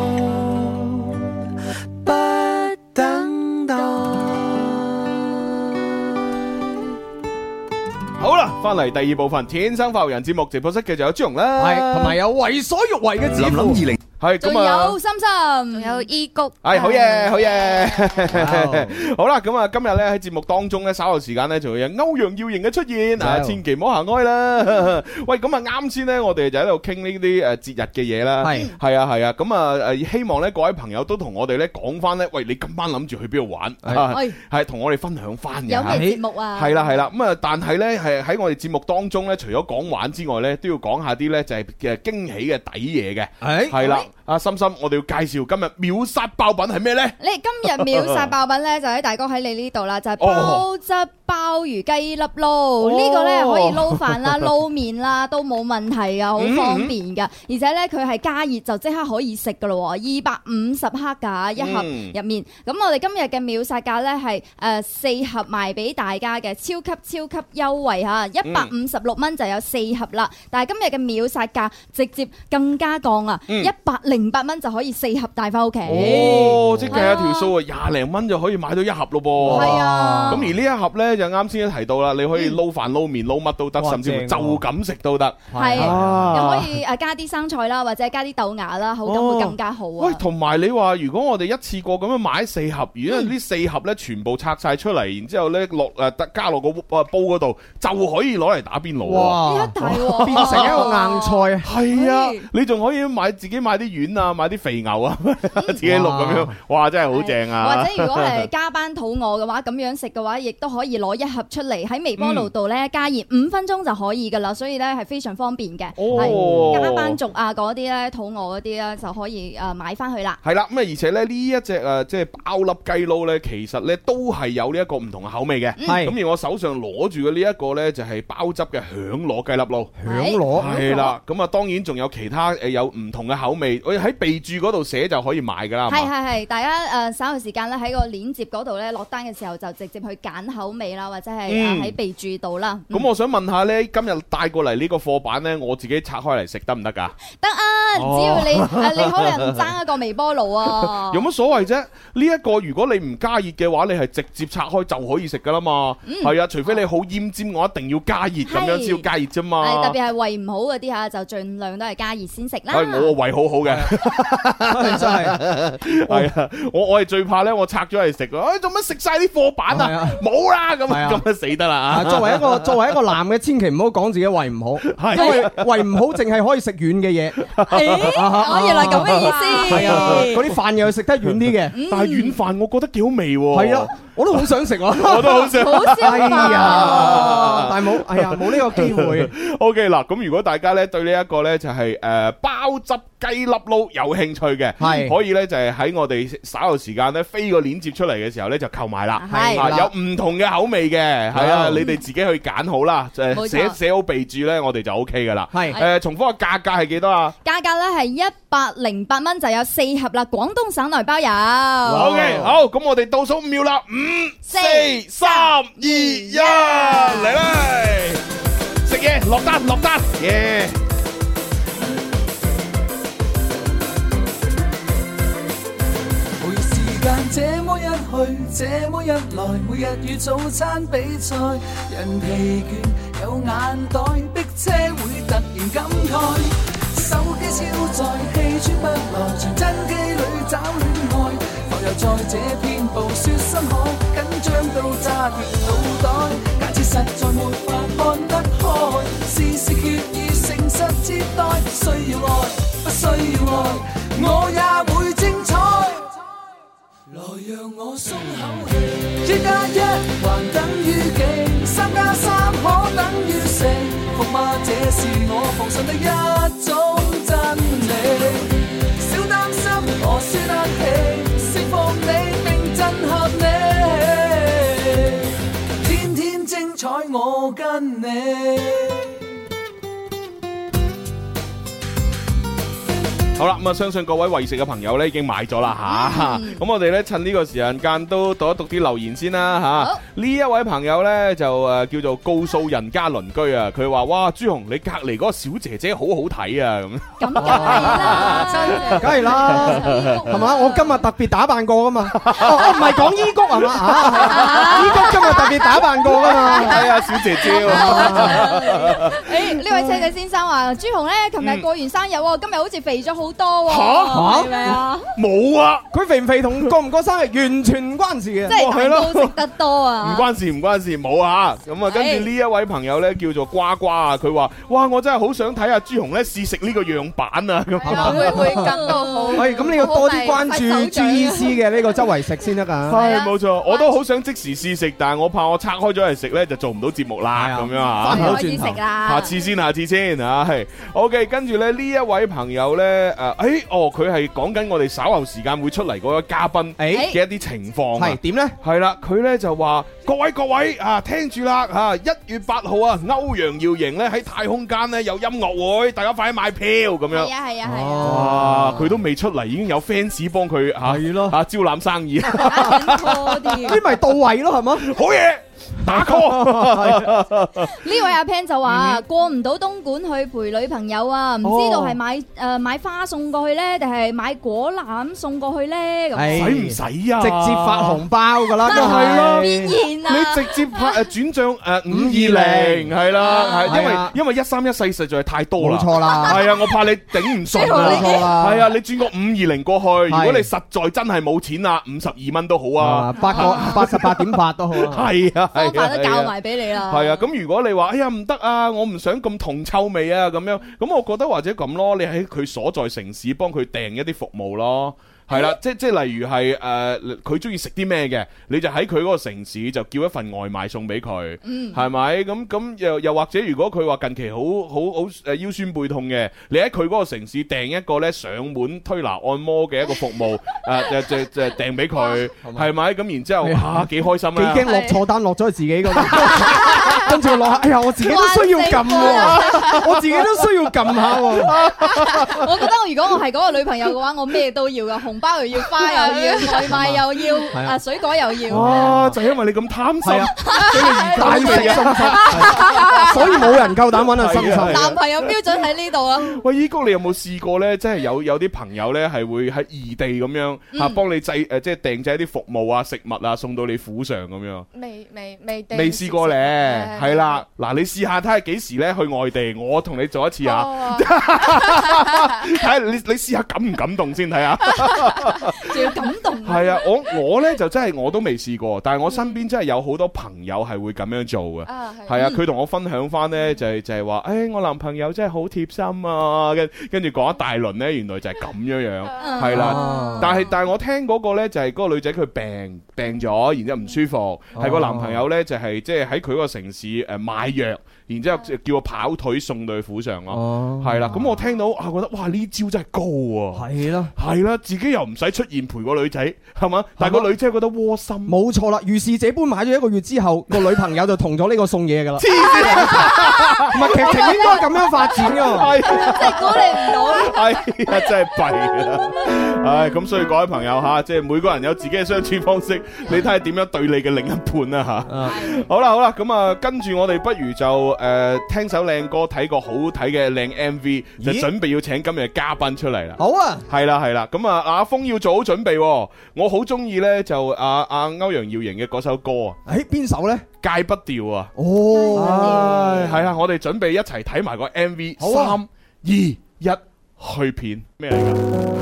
不等待。 好啦，翻嚟第二部分《天生快活人》節目直播室，繼續有朱紅啦， 係同埋有為所欲為嘅指林林二零。 係咁啊， 仲有心心， 仲有伊谷， 係好嘢，好嘢。好啦，咁啊，今日咧喺節目當中咧，稍後時間咧就會有歐陽耀瑩嘅出現啊，千祈唔好行開啦。喂，咁啊啱先咧，我哋就喺度傾呢啲誒節日嘅嘢啦。係係啊係啊，咁啊誒，希望咧各位朋友都同我哋咧講翻咧，喂，你今晚諗住去邊度玩？係係同我哋分享翻嘅。 有咩節目啊？ 係啦係啦，咁啊，但係咧係喺我哋節目當中咧，除咗講玩之外咧，都要講下啲咧就係嘅驚喜嘅抵嘢嘅。係係啦，阿心心，我哋要介紹今日秒殺爆品係咩咧？ 你今日秒殺爆品咧，就喺大哥喺你呢度啦，就係鮑汁鮑魚雞粒撈。呢個咧可以撈飯啦、撈麵啦，都冇問題噶，好方便噶。而且咧佢係加熱就即刻可以食噶咯，二百五十克噶一盒入面。咁我哋今日嘅秒殺價咧係誒四盒賣俾大家嘅超級超級優惠吓，一百五十六蚊就有四盒啦。但係今日嘅秒殺價直接更加降啊，一百零八蚊就可以四盒帶翻屋企。 哦，即係計一條數啊，廿零蚊就可以買到一盒咯噃。係啊，咁而呢一盒咧就啱先都提到啦，你可以撈飯、撈麵、撈乜都得，甚至乎就咁食都得。係， 又可以誒加啲生菜啦，或者加啲豆芽啦，口感會更加好啊。 喂，同埋你話如果我哋一次過咁樣買四盒，如果呢四盒咧全部拆晒出嚟，然之後咧落誒加落個煲嗰度，就可以攞嚟打邊爐。哇！ 變成一個硬菜。 係啊，你仲可以買自己買啲丸啊，買啲肥牛啊，自己錄咁樣，哇！真係好正啊！ 或者如果係加班肚餓嘅話，咁樣食嘅話，亦都可以攞一盒出嚟喺微波爐度咧加熱五分鐘就可以噶啦，所以咧係非常方便嘅。係加班族啊嗰啲咧，肚餓嗰啲咧就可以誒買翻去啦。係啦， 咁啊而且咧呢一隻誒即係鮑粒雞撈咧，其實咧都係有呢一個唔同嘅口味嘅。係咁而我手上攞住嘅呢一個咧就係鮑汁嘅響螺雞粒撈。 響螺係啦，咁啊當然仲有其他誒有唔同嘅口味，我喺備註嗰度寫就可以買噶啦。 係係係，大家誒稍後時間咧喺個鏈接嗰度咧落單嘅時候就直接去揀口味啦，或者係喺備註度啦。 咁我想問下咧，今日帶過嚟呢個貨板咧，我自己拆開嚟食得唔得噶？ 得啊，只要你誒你可能爭一個微波爐啊。 有乜所謂啫？呢一個如果你唔加熱嘅話，你係直接拆開就可以食噶啦嘛。係啊，除非你好奄尖，我一定要加熱咁樣先要加熱啫嘛。 係特別係胃唔好嗰啲嚇，就盡量都係加熱先食啦。 係我個胃好好嘅，真係係啊！我我係最怕咧，我拆咗嚟食啊！做乜食晒啲貨板啊？冇啦，咁咁啊死得啦啊！ 作為一個作為一個男嘅，千祈唔好講自己胃唔好，因為胃唔好淨係可以食軟嘅嘢。 哦，原來咁嘅意思。 係啊，嗰啲飯又食得軟啲嘅， 但係軟飯我覺得幾好味喎。係啊， 我都好想食啊！ 我都好想。 好消化。 係啊，但係冇，哎呀，冇呢個機會。 O K 嗱，咁如果大家咧對呢一個咧就係誒鮑汁雞粒撈有興趣嘅，係可以咧就係喺我哋稍後時間咧飛個鏈接出嚟嘅時候咧就購買啦。係啊，有唔同嘅口味嘅，係啊，你哋自己去揀好啦，誒寫寫好備註咧，我哋就 O K 噶啦。係誒，重複個價格係幾多啊？ 價格咧係一百零八蚊就有四盒啦，廣東省內包郵。 O K，好，咁我哋倒數五秒啦，五、四、三、二、一，嚟啦！食嘢落單落單，耶！ 每時間這麼一去，這麼一來，每日與早餐比賽，人疲倦有眼袋，逼車會突然感慨，手機超載，氣喘不來，傳真機裏找戀愛，浮游在這片暴雪深海，緊張到炸斷腦袋，假設實在沒法看得開，事事決意誠實接待，需要愛，不需要愛，我也會精彩。來讓我鬆口氣，一加一還等於幾？三加三可等於四？服嗎？這是我奉信的一種真理。小擔心，我輸得起，釋放你並震撼你，天天精彩我跟你。 好啦，咁啊，相信各位為食嘅朋友咧已經買咗啦吓，咁我哋咧趁呢個時間間都讀一讀啲留言先啦吓。呢一位朋友咧就誒叫做告訴人家鄰居啊，佢話：哇，朱紅你隔籬嗰個小姐姐好好睇啊咁。咁梗係啦，梗係啦，係嘛？我今日特別打扮過噶嘛，我唔係講依谷係嘛啊？依谷今日特別打扮過噶嘛？ 係啊，小姐姐。 誒，呢位車仔先生話：朱紅咧，琴日過完生日，今日好似肥咗好好多喎，係咪啊？ 冇啊！ 佢肥唔肥同過唔過生日完全唔關事嘅， 即係蛋糕食得多啊！ 唔關事唔關事，冇啊！咁啊，跟住呢一位朋友咧叫做呱呱啊，佢話：哇，我真係好想睇下朱紅咧試食呢個樣板啊！咁會會感到好。 喂，咁你要多啲關注朱醫師嘅呢個周圍食先得㗎。 係冇錯，我都好想即時試食，但係我怕我拆開咗嚟食咧就做唔到節目啦，咁樣啊！ 唔好意思啦， 下次先，下次先啊！係 OK，跟住咧呢一位朋友咧誒，誒哦，佢係講緊我哋稍後時間會出嚟嗰個嘉賓嘅一啲情況。 係點咧？ 係啦，佢咧就話：各位各位啊，聽住啦嚇！一月八號啊，歐陽耀瑩咧喺太空間咧有音樂會，大家快啲買票咁樣。 係啊係啊係啊！ 哇，佢都未出嚟，已經有 fans 幫佢嚇係咯嚇招攬生意。 呢咪到位咯，係嗎？ 好嘢！打 call 呢位阿 Pan 就話過唔到東莞去陪女朋友啊，唔知道係買誒買花送過去咧，定係買果籃送過去咧？咁使唔使啊？ 直接發紅包噶啦，都係咯， 變現啊！ 你直接拍誒轉賬誒五二零係啦，係因為因為一三一四實在係太多啦， 冇錯啦， 係啊，我怕你頂唔順啊， 冇錯啦， 係啊，你轉個五二零過去，如果你實在真係冇錢啊，五十二蚊都好啊， 八個八十八點八都好啊， 係啊。 方法都教埋俾你啦。 係啊，咁如果你話哎呀唔得啊，我唔想咁銅臭味啊咁樣，咁我覺得或者咁咯，你喺佢所在城市幫佢訂一啲服務咯。係啦，即即例如係誒，佢中意食啲咩嘅，你就喺佢嗰個城市就叫一份外賣送俾佢，係咪？咁咁又又或者如果佢話近期好好好誒腰酸背痛嘅，你喺佢嗰個城市訂一個咧上門推拿按摩嘅一個服務，誒就就就訂俾佢，係咪？咁然之後嚇幾開心啊！ 幾驚落錯單落咗佢自己嗰度，跟住我落下，哎呀我自己都需要撳喎，我自己都需要撳下喎。 我覺得我如果我係嗰個女朋友嘅話，我咩都要噶，紅包又要，花又要，外賣又要，啊水果又要。 哇！就因為你咁貪心，所以而大食心心，所以冇人夠膽揾阿心心。 男朋友標準喺呢度啊！ 喂，依谷你有冇試過咧？即係有有啲朋友咧係會喺異地咁樣嚇幫你製誒，即係訂製一啲服務啊、食物啊送到你府上咁樣。 未未未未試過咧，係啦。嗱，你試下睇下幾時咧去外地，我同你做一次啊！睇下你你試下感唔感動先睇下。 仲要感動。 係啊，我我咧就真係我都未試過，但係我身邊真係有好多朋友係會咁樣做嘅。係啊，佢同我分享翻咧就係就係話，誒我男朋友真係好貼心啊，跟跟住講一大輪咧，原來就係咁樣樣，係啦。但係但係我聽嗰個咧就係嗰個女仔佢病病咗，然之後唔舒服，係個男朋友咧就係即係喺佢嗰個城市誒買藥。然之後叫我跑腿送到去府上咯，係啦。咁我聽到啊，覺得哇呢招真係高喎，係咯，係啦，自己又唔使出現陪個女仔，係嘛？但係個女仔覺得窩心， 冇錯啦。如是這般買咗一個月之後，個女朋友就同咗呢個送嘢噶啦。 黐線， 唔係劇情應該咁樣發展噶， 係即係估你唔到。 係啊，真係弊啦。唉，咁所以各位朋友嚇，即係每個人有自己嘅相處方式，你睇下點樣對你嘅另一半啦嚇。好啦好啦，咁啊跟住我哋不如就。誒、呃，聽首靚歌，睇個好睇嘅靚 M V，就準備要請今日嘅嘉賓出嚟啦。 好啊， 係啦係啦，咁啊阿峰要做好準備、哦。我好中意咧，就阿阿歐陽耀瑩嘅嗰首歌啊。 誒，邊首咧？ 戒不掉啊！ 哦， 係啊，我哋準備一齊睇埋個 M V。三二一，去片咩嚟噶？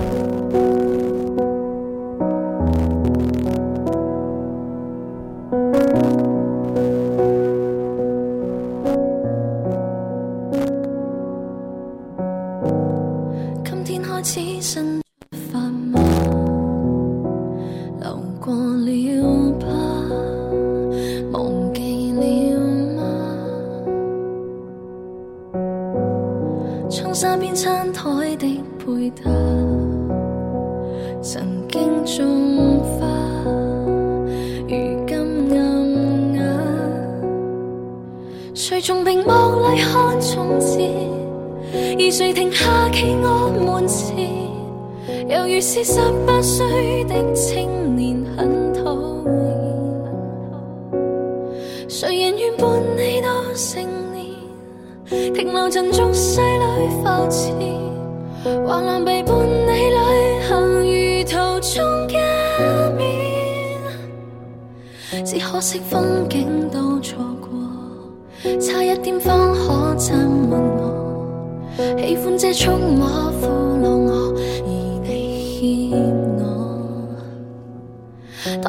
是十八歲的青年很討厭，誰人願伴你到成年，停留進俗世裏浮潛，橫欄被伴你旅行如途中加冕，只可惜風景都錯過，差一點方可親吻我，喜歡這觸摸俘虜我。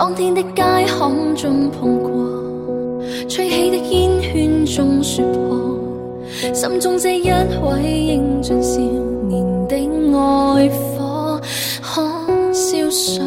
當天的街巷中碰過，吹起的煙圈中說破，心中這一位英俊少年的愛火，可燒傷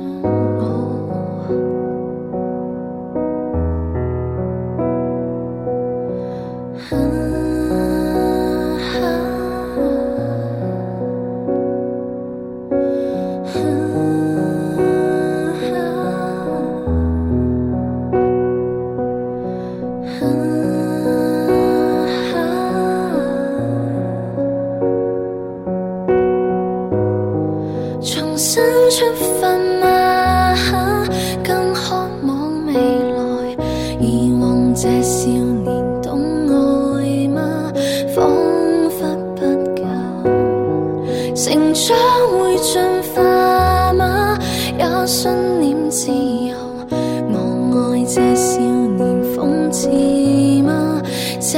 出發嗎？更渴望未來，遺忘這少年懂愛嗎？彷彿不夠，成長會進化嗎？也信念自由，我愛這少年諷刺嗎？這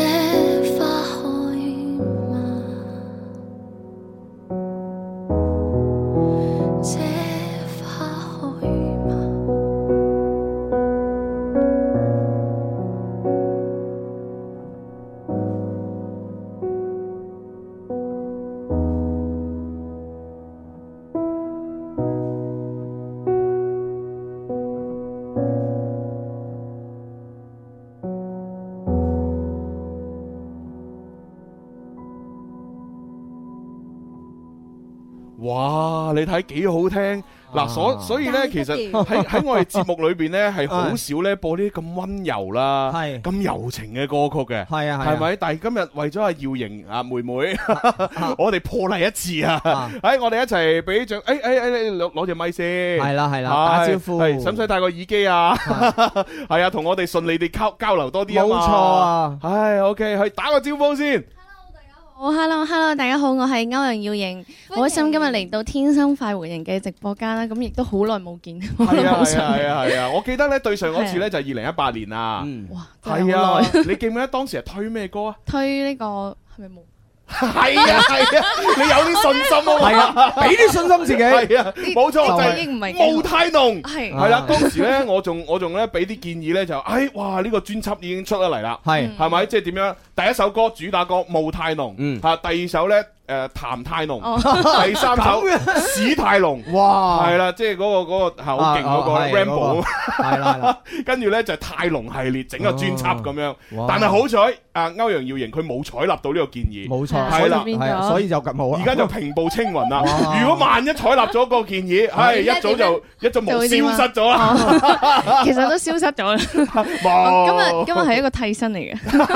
哇！你睇幾好聽嗱，所所以咧，其實喺喺我哋節目裏邊咧，係好少咧播啲咁溫柔啦、咁柔情嘅歌曲嘅，係啊，係咪？但係今日為咗阿耀瑩啊妹妹，我哋破例一次啊！喺我哋一齊俾掌，誒誒誒，你攞攞隻咪先，係啦係啦，打招呼，係使唔使戴個耳機啊？係啊，同我哋順利地交交流多啲啊嘛！冇錯啊！唉 ，OK，去打個招呼先。 好 ，hello hello，大家好，我係歐陽耀瑩，好開心今日嚟到天生快活人嘅直播間啦，咁亦都好耐冇見，好耐冇上。係啊係啊，我記得咧對上嗰次咧就係二零一八年啊，哇，係啊，你記唔記得當時係推咩歌啊？ 推呢個係咪冇？ 係啊係啊，你有啲信心啊， 係啊，俾啲信心自己，係啊， 冇錯，就係霧太濃， 係係啦。當時咧，我仲我仲咧俾啲建議咧，就誒，哇，呢個專輯已經出得嚟啦，係係咪？即係點樣？第一首歌主打歌霧太濃，嗯，吓，第二首咧。誒，譚太濃，第三首史太濃，哇，係啦，即係嗰個嗰個係好勁嗰個 Rambo，係啦，跟住咧就係太濃系列整個專輯咁樣，但係好彩，阿歐陽耀瑩佢冇採納到呢個建議，冇錯，係啦，係，所以就咁好啦，而家就平步青雲啦。如果萬一採納咗個建議，係一早就一早冇消失咗啦， 其實都消失咗啦。今日今日係一個替身嚟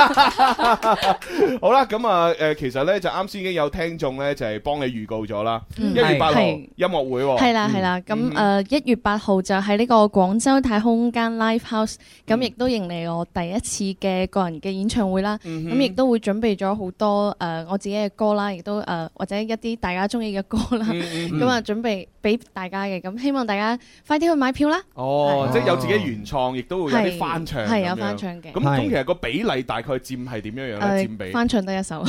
嘅。 好啦，咁啊，誒，其實咧就啱先已經有聽眾咧就係幫你預告咗啦，一月八號音樂會， 係啦係啦，咁誒一月八號就喺呢個廣州太空間 Live House，咁亦都迎嚟我第一次嘅個人嘅演唱會啦，咁亦都會準備咗好多誒我自己嘅歌啦，亦都誒或者一啲大家中意嘅歌啦，咁啊準備俾大家嘅，咁希望大家快啲去買票啦。 哦，即係有自己原創，亦都會有啲翻唱， 係有翻唱嘅。 咁咁其實個比例大概佔係點樣樣咧？佔比翻唱得一首。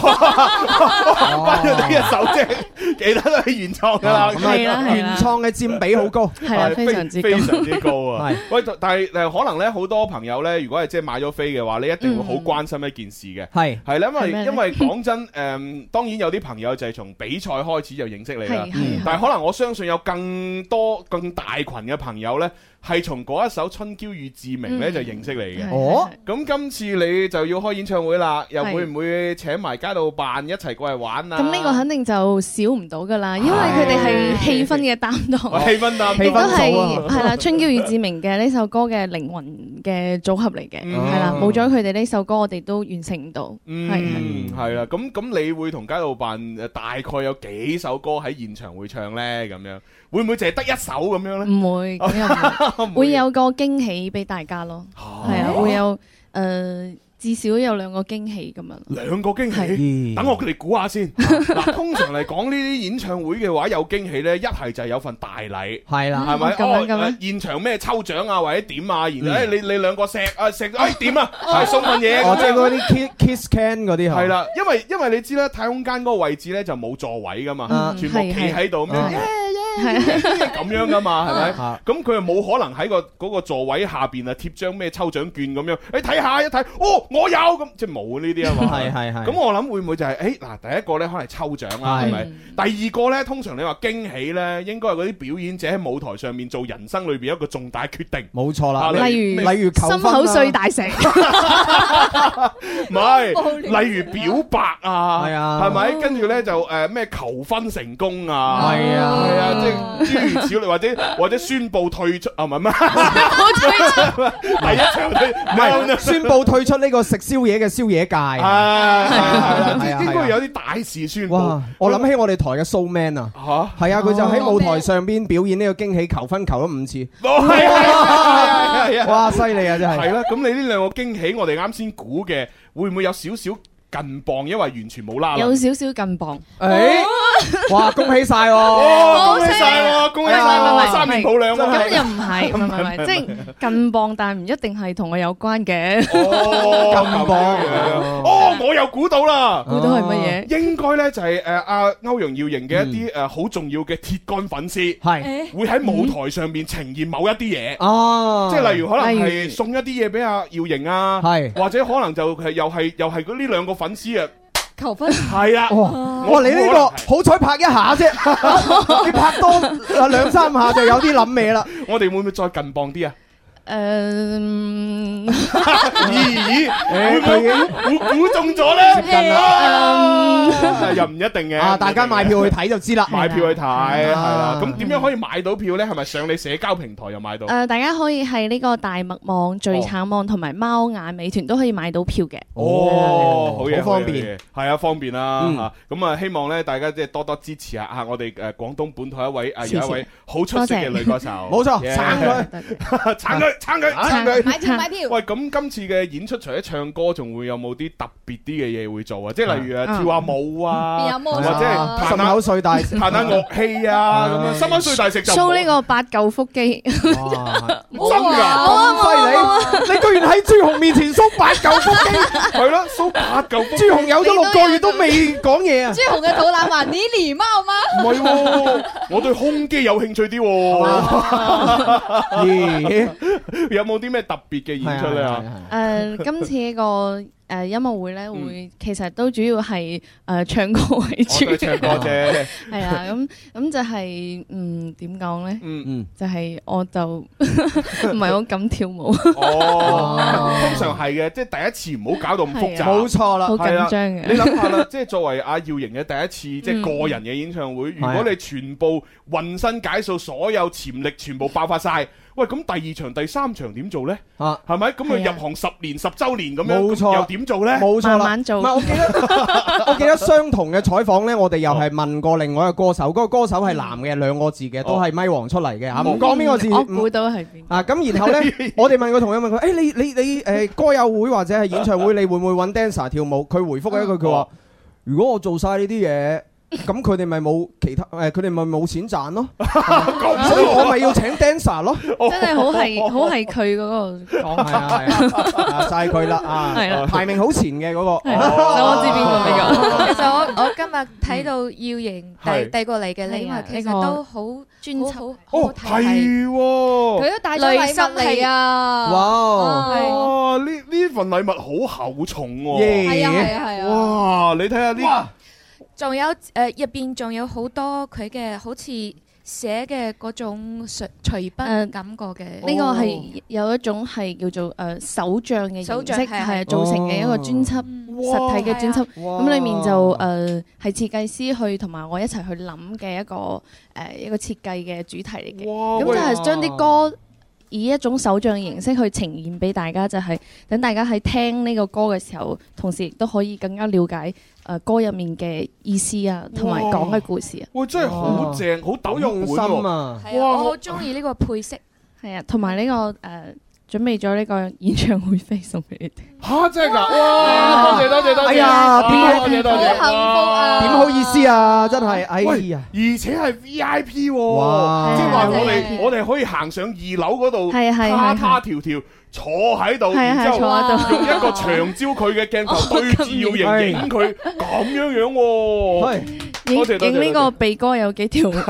翻咗呢一首啫，其他都係原創噶啦， 係啦，原創嘅佔比好高， 係啊，非常之非常之高啊！喂，但係誒，可能咧好多朋友咧，如果係即係買咗飛嘅話，你一定會好關心一件事嘅，係係啦，因為因為講真，誒，當然有啲朋友就係從比賽開始就認識你啦，但係可能我相信有更多更大群嘅朋友咧。係從嗰一首《春嬌與志明》咧就認識你嘅。哦，咁今次你就要開演唱會啦，又會唔會請埋街道辦一齊過嚟玩啊？ 咁呢個肯定就少唔到噶啦，因為佢哋係氣氛嘅擔當， 氣氛擔當， 亦都係係啦，《春嬌與志明》嘅呢首歌嘅靈魂嘅組合嚟嘅，係啦，冇咗佢哋呢首歌，我哋都完成唔到。 嗯，係啦，咁咁你會同街道辦誒大概有幾首歌喺現場會唱咧？咁樣會唔會淨係得一首咁樣咧？唔會，咁又唔會，會有個驚喜俾大家咯。係啊，會有誒至少有兩個驚喜咁樣。兩個驚喜，等我哋估下先。嗱，通常嚟講呢啲演唱會嘅話，有驚喜咧，一係就係有份大禮，係啦，係咪？咁樣現場咩抽獎啊，或者點啊，然後誒你你兩個錫啊錫，誒點啊，係送份嘢。哦，即係嗰啲 kiss can 嗰啲係啦，因為因為你知啦，太空間嗰個位置咧就冇座位噶嘛，全部企喺度咩？ 咁樣噶嘛，係咪？咁佢又冇可能喺個嗰個座位下邊啊貼張咩抽獎券咁樣，你睇下一睇，哦，我有咁，即係冇呢啲啊嘛。係係係。咁我諗會唔會就係誒嗱，第一個咧可能係抽獎啦，係咪？第二個咧，通常你話驚喜咧，應該係嗰啲表演者喺舞台上面做人生裏邊一個重大決定。冇錯啦， 例如例如心口碎大石， 唔係，例如表白啊，係啊，係咪？跟住咧就誒咩求婚成功啊，係啊，係啊，即係諸如此類，或者或者宣布退出啊，唔係咩？第一場退唔係宣布退出呢個食宵夜嘅宵夜界，係係係，應該有啲大事宣布。 我諗起我哋台嘅 Soul Man 啊，嚇，係啊，佢就喺舞台上邊表演呢個驚喜求婚，求咗五次。 係啊係啊， 哇，犀利啊真係。 係啦，咁你呢兩個驚喜，我哋啱先估嘅，會唔會有少少近磅？因為完全冇啦， 有少少近磅。 誒，哇，恭喜晒喎！ 恭喜晒喎！恭喜晒！三年抱兩啊！ 咁又唔係，唔係唔係，即係近磅，但係唔一定係同我有關嘅。 哦，近磅。哦，我又估到啦！ 估到係乜嘢？ 應該咧就係誒阿歐陽耀瑩嘅一啲誒好重要嘅鐵桿粉絲，係會喺舞台上面呈現某一啲嘢。哦，即係例如可能係送一啲嘢俾阿耀瑩啊，係或者可能就係又係又係嗰呢兩個粉絲啊。 求婚係啊！ 哇！你呢個好彩拍一下啫，你拍多兩三下就有啲諗味啦。 我哋會唔會再近磅啲啊？ 誒， 咦？會唔會估估中咗咧？又唔一定嘅。 啊！大家買票去睇就知啦。 買票去睇係啦。咁點樣可以買到票咧？係咪上你社交平台又買到？ 誒，大家可以係呢個大麥網、最橙網同埋貓眼美團都可以買到票嘅。 哦，好嘢， 好方便。 係啊，方便啦嚇。咁啊，希望咧大家即係多多支持下嚇我哋誒廣東本土一位啊有一位好出色嘅女歌手。 冇錯，撐佢， 撐佢。撐佢，撐佢， 買票買票。 喂，咁今次嘅演出除咗唱歌，仲會有冇啲特別啲嘅嘢會做啊？即係例如誒跳下舞啊，或者係心口碎大石， 彈下樂器啊咁樣。心口碎大石就 show 呢個八嚿腹肌， 真㗎， 咁犀利！你居然喺朱紅面前 show 八嚿腹肌， 係咯 ，show 八嚿腹肌。 朱紅有咗六個月都未講嘢啊！ 朱紅嘅肚腩話：你禮貌嗎？ 唔係喎，我對胸肌有興趣啲喎。有冇啲咩特別嘅演出咧？ 誒，今次呢個誒音樂會咧，會其實都主要係誒唱歌為主， 唱歌啫。 係啊，咁咁就係嗯點講咧？嗯嗯，就係我就唔係好敢跳舞。 哦，通常係嘅，即係第一次唔好搞到咁複雜。 冇錯啦， 好緊張嘅。 你諗下啦，即係作為阿耀瑩嘅第一次即係個人嘅演唱會，如果你全部渾身解數，所有潛力全部爆發晒。喂，咁第二場、第三場點做咧？啊，係咪？咁佢入行十年、十週年咁樣，冇錯，又點做咧？ 冇錯啦， 慢慢做。 唔係，我記得，我記得相同嘅採訪咧，我哋又係問過另外一個歌手，嗰個歌手係男嘅，兩個字嘅，都係咪王出嚟嘅嚇，唔講邊個字。 我估到係邊。 啊，咁然後咧，我哋問個同學問佢：誒，你你你誒歌友會或者係演唱會，你會唔會揾 dancer 跳舞？佢回覆一句，佢話：如果我做曬呢啲嘢。咁佢哋咪冇其他誒，佢哋咪冇錢賺咯，所以我咪要請 dancer 咯。 真係好係好係佢嗰個講，係啊係啊，晒佢啦啊，係啦，排名好前嘅嗰個， 我知邊個呢個。 其實我我今日睇到耀瑩遞遞過嚟嘅禮物，其實都好專輯，好好睇。 係喎， 佢都帶咗禮物嚟啊！ 哇，呢呢份禮物好厚重喎。 係啊係啊係啊！ 哇，你睇下呢。 仲有誒入邊仲有好多佢嘅好似寫嘅嗰種隨隨筆感覺嘅， 呢個係有一種係叫做誒手帳嘅形式，係做成嘅一個專輯，實體嘅專輯。咁裡面就誒係設計師去同埋我一齊去諗嘅一個誒一個設計嘅主題嚟嘅。咁就係將啲歌以一種手帳形式去呈現俾大家，就係等大家喺聽呢個歌嘅時候，同時亦都可以更加了解誒歌入面嘅意思啊，同埋講嘅故事啊。 哇！真係好正，好抖用心啊！ 哇！我好中意呢個配色， 係啊，同埋呢個誒準備咗呢個演唱會飛送俾你哋。 嚇！真係㗎！哇！多謝多謝多謝！ 哎呀，點多謝多謝！ 好幸福啊！ 點好意思啊！真係，哎呀！ 而且係 V I P 喎，即係話我哋我哋可以行上二樓嗰度，他他條條坐喺度，然之後用一個長焦距嘅鏡頭對住耀瑩影佢，咁樣樣喎。 多謝多謝。 影呢個鼻哥有幾條？唔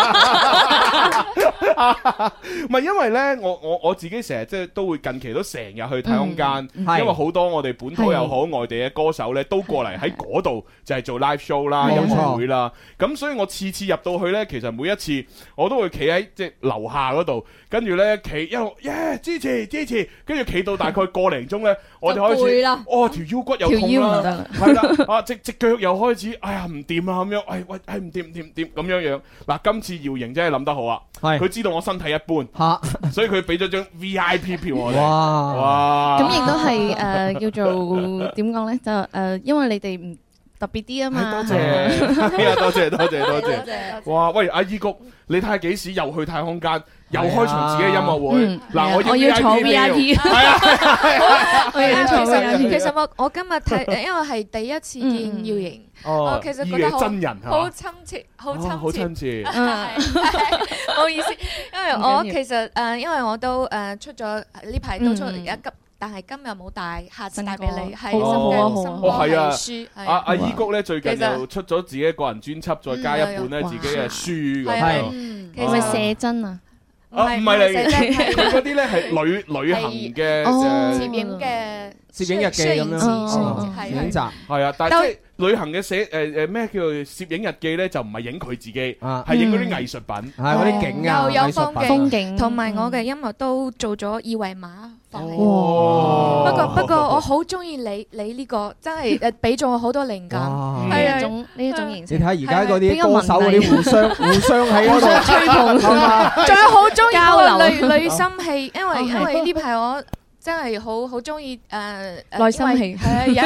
係因為咧，我我我自己成日即係都會近期都成日去太空間，因為好多我哋本土又好外地嘅歌手咧都過嚟喺嗰度就係做 live show 啦、音樂會啦。咁所以我次次入到去咧，其實每一次我都會企喺即係樓下嗰度，跟住咧企一路耶支持支持，跟住企到大概個零鐘咧，我哋開始哦條腰骨又痛啦，係啦啊隻隻腳又開始哎呀唔掂啊咁樣，哎喂哎唔掂唔掂唔掂咁樣樣。嗱今次姚瑩真係諗得好啊，佢知道我身體一般嚇，所以佢俾咗張 V I P 票我哋。哇哇！ 咁亦都係誒叫做點講咧？就誒因為你哋唔特別啲啊嘛。 多謝，多謝多謝多謝。哇！喂，阿依谷，你睇下幾時又去太空間？又開場自己嘅音樂會，嗱我要坐 V I P， 係啊， 我要坐 V I P。其實我我今日睇，因為係第一次見耀瑩，我其實覺得好真人， 好親切，好親切， 好親切。 唔好意思，因為我其實誒，因為我都誒出咗呢排都出而家急。但係今日冇帶，下次帶俾你。係新嘅新歌係書。阿阿依谷咧最近又出咗自己個人專輯，再加一本咧自己嘅書咁樣。 係咪寫真啊？ 啊，唔係嚟，佢嗰啲咧係旅旅行嘅攝影嘅攝影日記咁樣，攝影集係啊，但係即係旅行嘅寫誒誒咩叫做攝影日記咧，就唔係影佢自己，係影嗰啲藝術品， 係嗰啲景啊， 又有風景， 同埋我嘅音樂都做咗二維碼放嚟。不過不過我好中意你你呢個，真係誒俾咗我好多靈感。 係啊，種呢一種形式。 你睇下而家嗰啲歌手嗰啲互相互相喺嗰度吹捧， 仲有好中意個女女心戲，因為因為呢排我。真係好好中意誒內心戲， 係啊，有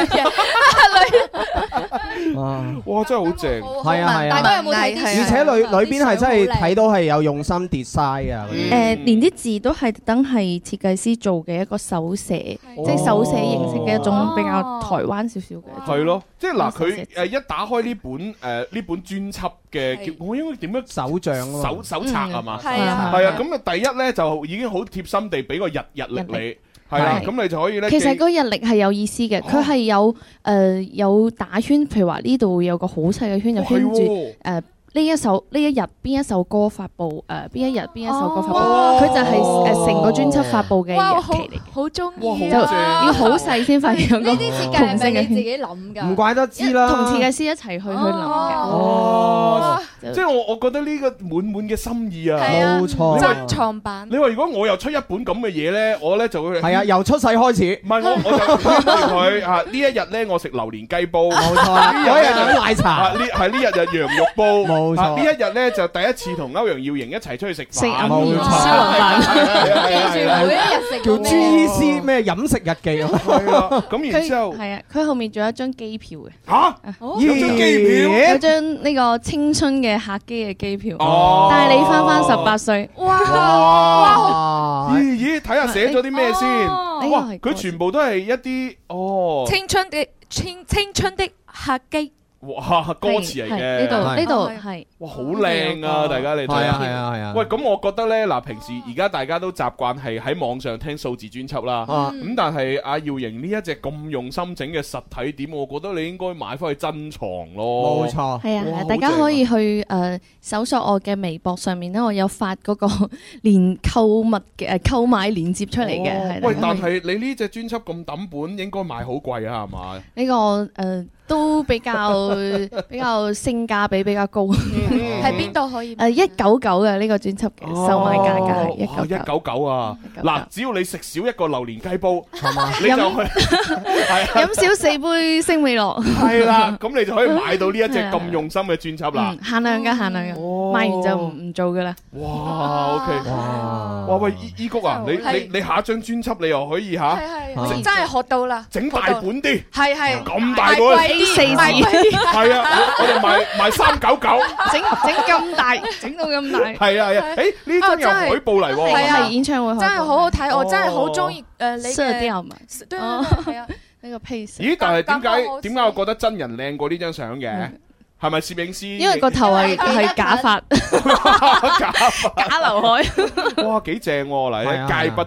有哇，真係好正， 係啊係啊！ 大家有冇睇？ 而且裏裏邊係真係睇到係有用心 design 啊！ 誒，連啲字都係特登係設計師做嘅一個手寫，即係手寫形式嘅一種比較台灣少少嘅。 係咯，即係嗱，佢誒一打開呢本誒呢本專輯嘅，叫我應該點樣手帳咯？ 手手冊係嘛？ 係啊， 係啊，咁啊第一咧就已經好貼心地俾個日日曆你。係啦，咁你就可以咧。 其實嗰日曆係有意思嘅，佢係有誒有打圈，譬如話呢度有個好細嘅圈，就圈住誒呢一首呢一日邊一首歌發布，誒邊一日邊一首歌發布，佢就係誒成個專輯發布嘅日期嚟嘅。 好中意就要好細先發現個呢啲設計係咪你自己諗㗎？ 唔怪得知啦， 同設計師一齊去去諗嘅。 哦，即係我我覺得呢個滿滿嘅心意啊， 冇錯， 珍藏版。 你話如果我又出一本咁嘅嘢咧，我咧就會係啊，由出世開始。 唔係我我就勸住佢啊，呢一日咧我食榴蓮雞煲， 冇錯。嗰日飲奶茶， 呢係呢日就羊肉煲， 冇錯。 呢一日咧就第一次同歐陽耀瑩一齊出去食飯， 冇錯。 每一日食叫 G C 咩飲食日記啊？ 係啊，咁然之後係啊，佢後面仲有一張機票嘅。 嚇，有張機票， 有張呢個青春嘅客機嘅機票，帶你翻翻十八歲。 哇！ 咦咦，睇下寫咗啲咩先？哇，佢全部都係一啲哦， 青春嘅青青春的客機。 哇，歌詞嚟嘅， 呢度呢度係， 哇，好靚啊！大家你睇下， 係啊係啊。 喂，咁我覺得咧，嗱，平時而家大家都習慣係喺網上聽數字專輯啦，咁但係阿耀瑩呢一隻咁用心整嘅實體碟，我覺得你應該買翻去珍藏咯。 冇錯， 係啊，大家可以去誒搜索我嘅微博上面咧，我有發嗰個連購物嘅誒購買鏈接出嚟嘅。係。 喂，但係你呢隻專輯咁抌本，應該賣好貴啊，係嘛？ 呢個誒。都比較比較性價比比較高， 喺邊度可以？ 誒一九九嘅呢個專輯嘅售賣價格係一九九， 一九九啊！嗱，只要你食少一個榴蓮雞煲，係嘛？你就去飲少四杯星美樂， 係啦，咁你就可以買到呢一隻咁用心嘅專輯啦。 限量㗎，限量㗎，賣完就唔唔做㗎啦。 哇！OK，哇！哇喂，依依谷啊，你你你下一張專輯你又可以嚇， 係係，真係學到啦， 整大本啲， 係係， 咁大本。 四字係啊，我哋賣賣三九九， 整整咁大，整到咁大。 係啊係啊，誒呢張有海報嚟喎， 係啊， 演唱會真係好好睇，我真係好中意誒你嘅色調嘛， 對係啊， 呢個 pace。 咦？但係點解點解我覺得真人靚過呢張相嘅？係咪攝影師？ 因為個頭係係假髮， 假髮假劉海。 哇，幾正喎！嚟，戒不掉。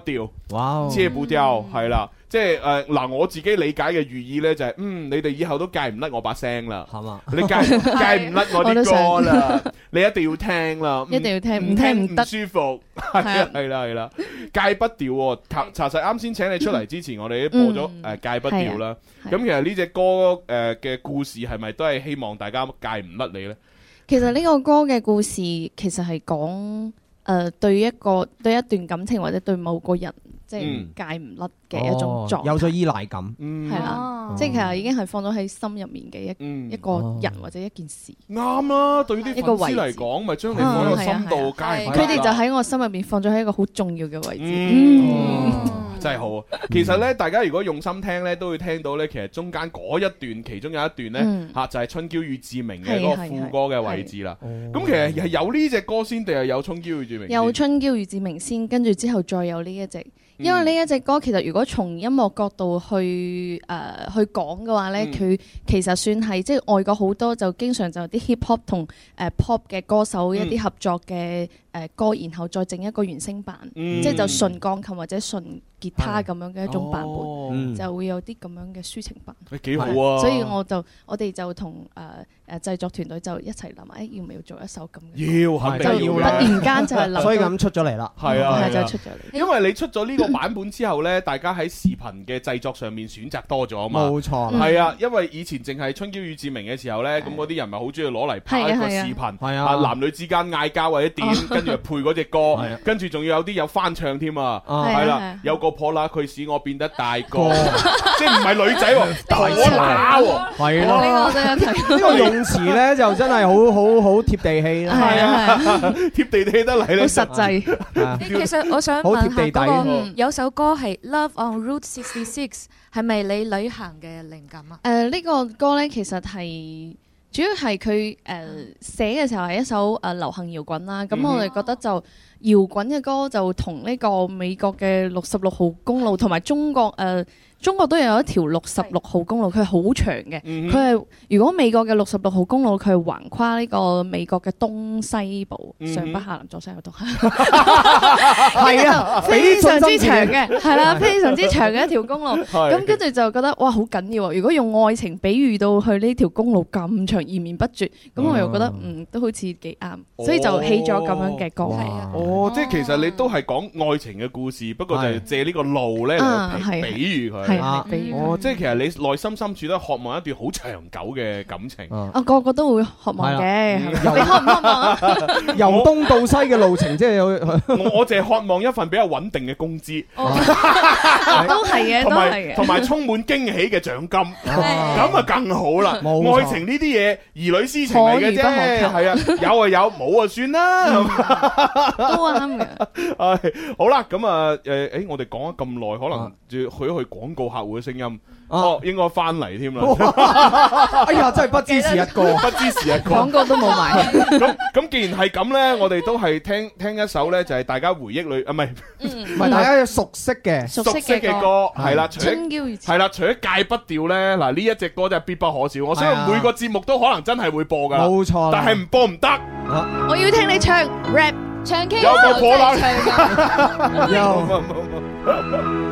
哇， 戒不掉係啦。即係誒嗱，我自己理解嘅寓意咧就係，嗯，你哋以後都戒唔甩我把聲啦， 係嘛？ 你戒戒唔甩我啲歌啦，你一定要聽啦， 一定要聽，唔聽唔得， 唔舒服，係啊，係啦，係啦，戒不掉喎。查查實啱先請你出嚟之前，我哋都播咗誒戒不掉啦。咁其實呢隻歌誒嘅故事係咪都係希望大家戒唔甩你咧？ 其實呢個歌嘅故事其實係講誒對一個對一段感情或者對某個人。即係戒唔甩嘅一種狀態， 有咗依賴感， 係啦，即係其實已經係放咗喺心入面嘅一一個人或者一件事。 啱啊，對於啲粉絲嚟講，咪將你放喺個心度，戒唔甩。 佢哋就喺我心入邊放咗喺一個好重要嘅位置。 真係好。其實咧，大家如果用心聽咧，都會聽到咧，其實中間嗰一段，其中有一段咧嚇就係春嬌與志明嘅嗰個副歌嘅位置啦。咁其實係有呢隻歌先定係有春嬌與志明？ 有春嬌與志明先，跟住之後再有呢一隻。因為呢一隻歌其實如果從音樂角度去誒、呃、去講嘅話咧，佢、嗯、其實算係即係外國好多就經常就啲 hip hop 同誒 pop 嘅歌手一啲合作嘅誒歌，然後再整一個原聲版，嗯、即係就純鋼琴或者純吉他咁樣嘅一種版本，哦、就會有啲咁樣嘅抒情版。 誒幾好啊！ 所以我就我哋就同誒誒製作團隊就一齊諗，誒要唔要做一首咁嘅？ 要，肯定要啦！ 突然間就係諗， 所以咁出咗嚟啦。 係啊， 就出咗嚟。 因為你出咗呢個版本之後咧，大家喺視頻嘅製作上面選擇多咗啊嘛。 冇錯。 係啊，因為以前淨係春嬌與志明嘅時候咧，咁嗰啲人咪好中意攞嚟拍一個視頻，係啊，男女之間嗌交或者點，跟住配嗰隻歌，跟住仲要有啲有翻唱添啊。係啦，有個破啦，佢使我變得大個，即係唔係女仔喎，大乸喎，係咯。 呢個真係睇呢個用詞咧就真係好好好貼地氣啦， 係啊，貼地氣得嚟咧， 好實際。 其實我想問下嗰個有首歌係 Love on Route sixty-six， 係咪你旅行嘅靈感啊？ 誒呢個歌咧其實係主要係佢誒寫嘅時候係一首誒流行搖滾啦，咁我哋覺得就搖滾嘅歌就同呢個美國嘅六十六號公路同埋中國誒。呃中國都有一條六十六號公路，佢係好長嘅。佢係、嗯、如果美國嘅六十六號公路，佢係橫跨呢個美國嘅東西部，嗯、上北下南左西右東。係啊，非常之長嘅，係啦，非常之長嘅一條公路。咁跟住就覺得哇，好緊要啊！如果用愛情比喻到去呢條公路咁長，延綿不絕，咁、嗯、我又覺得嗯都好似幾啱，哦、所以就起咗咁樣嘅歌。 哦，哦即係其實你都係講愛情嘅故事，不過就係借呢個路咧嚟比喻佢。 啊！ 哦，即係其實你內心深處都渴望一段好長久嘅感情。 啊，個個都會渴望嘅。你渴唔渴望啊？ 由東到西嘅路程，即係有我我淨係渴望一份比較穩定嘅工資。 都係嘅，都係嘅。 同埋充滿驚喜嘅獎金，咁啊更好啦。愛情呢啲嘢兒女私情嚟嘅啫，係啊，有啊有，冇啊算啦。 都啱嘅。 係好啦，咁啊誒誒，我哋講咗咁耐，可能要去一去廣告。客戶嘅聲音，哦，應該翻嚟添啦！ 哎呀，真係不知時日過， 不知時日過， 廣告都冇埋。 咁咁，既然係咁咧，我哋都係聽聽一首咧，就係大家回憶裏啊，唔係唔係大家熟悉嘅熟悉嘅歌，係啦， 春嬌係啦，除咗戒不掉咧，嗱呢一隻歌真係必不可少。我相信每個節目都可能真係會播噶， 冇錯。 但係唔播唔得。 我要聽你唱 rap， 唱 K， 有個火啦， 有。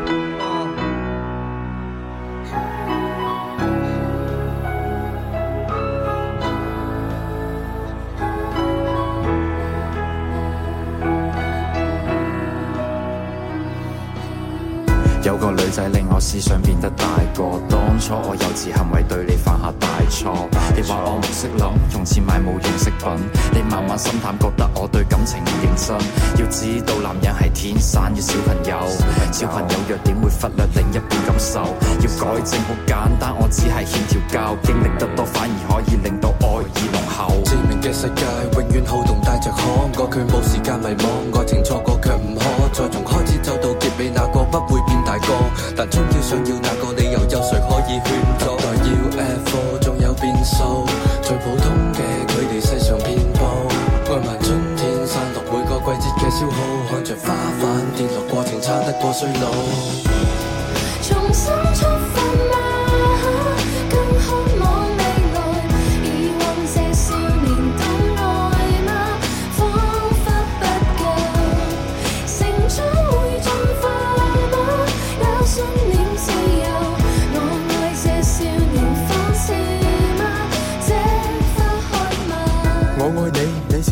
有個女仔令我思想變得大個，當初我幼稚行為對你犯下大錯。你話我唔識諗，用錢買冇用飾品，你慢慢心淡，覺得我對感情唔認真。要知道男人係天生嘅小朋友，小朋友弱點會忽略另一半感受。要改正好簡單，我只係欠條教，經歷得多反而可以令到愛意濃厚。 志明嘅世界永遠好動帶着可愛，佢冇時間迷惘，愛情錯過卻唔可再從開始走到結尾，那個不會變大個。但終要想要那個理由，有誰可以勸阻？代要 F 仲有變數，最普通嘅佢哋世上遍佈。愛漫春天散落每個季節嘅消耗，看着花瓣跌落過程差得過衰老。 重新出發嗎？更渴望未來，疑惑這少年懂愛嗎？彷彿不夠，成長會進化。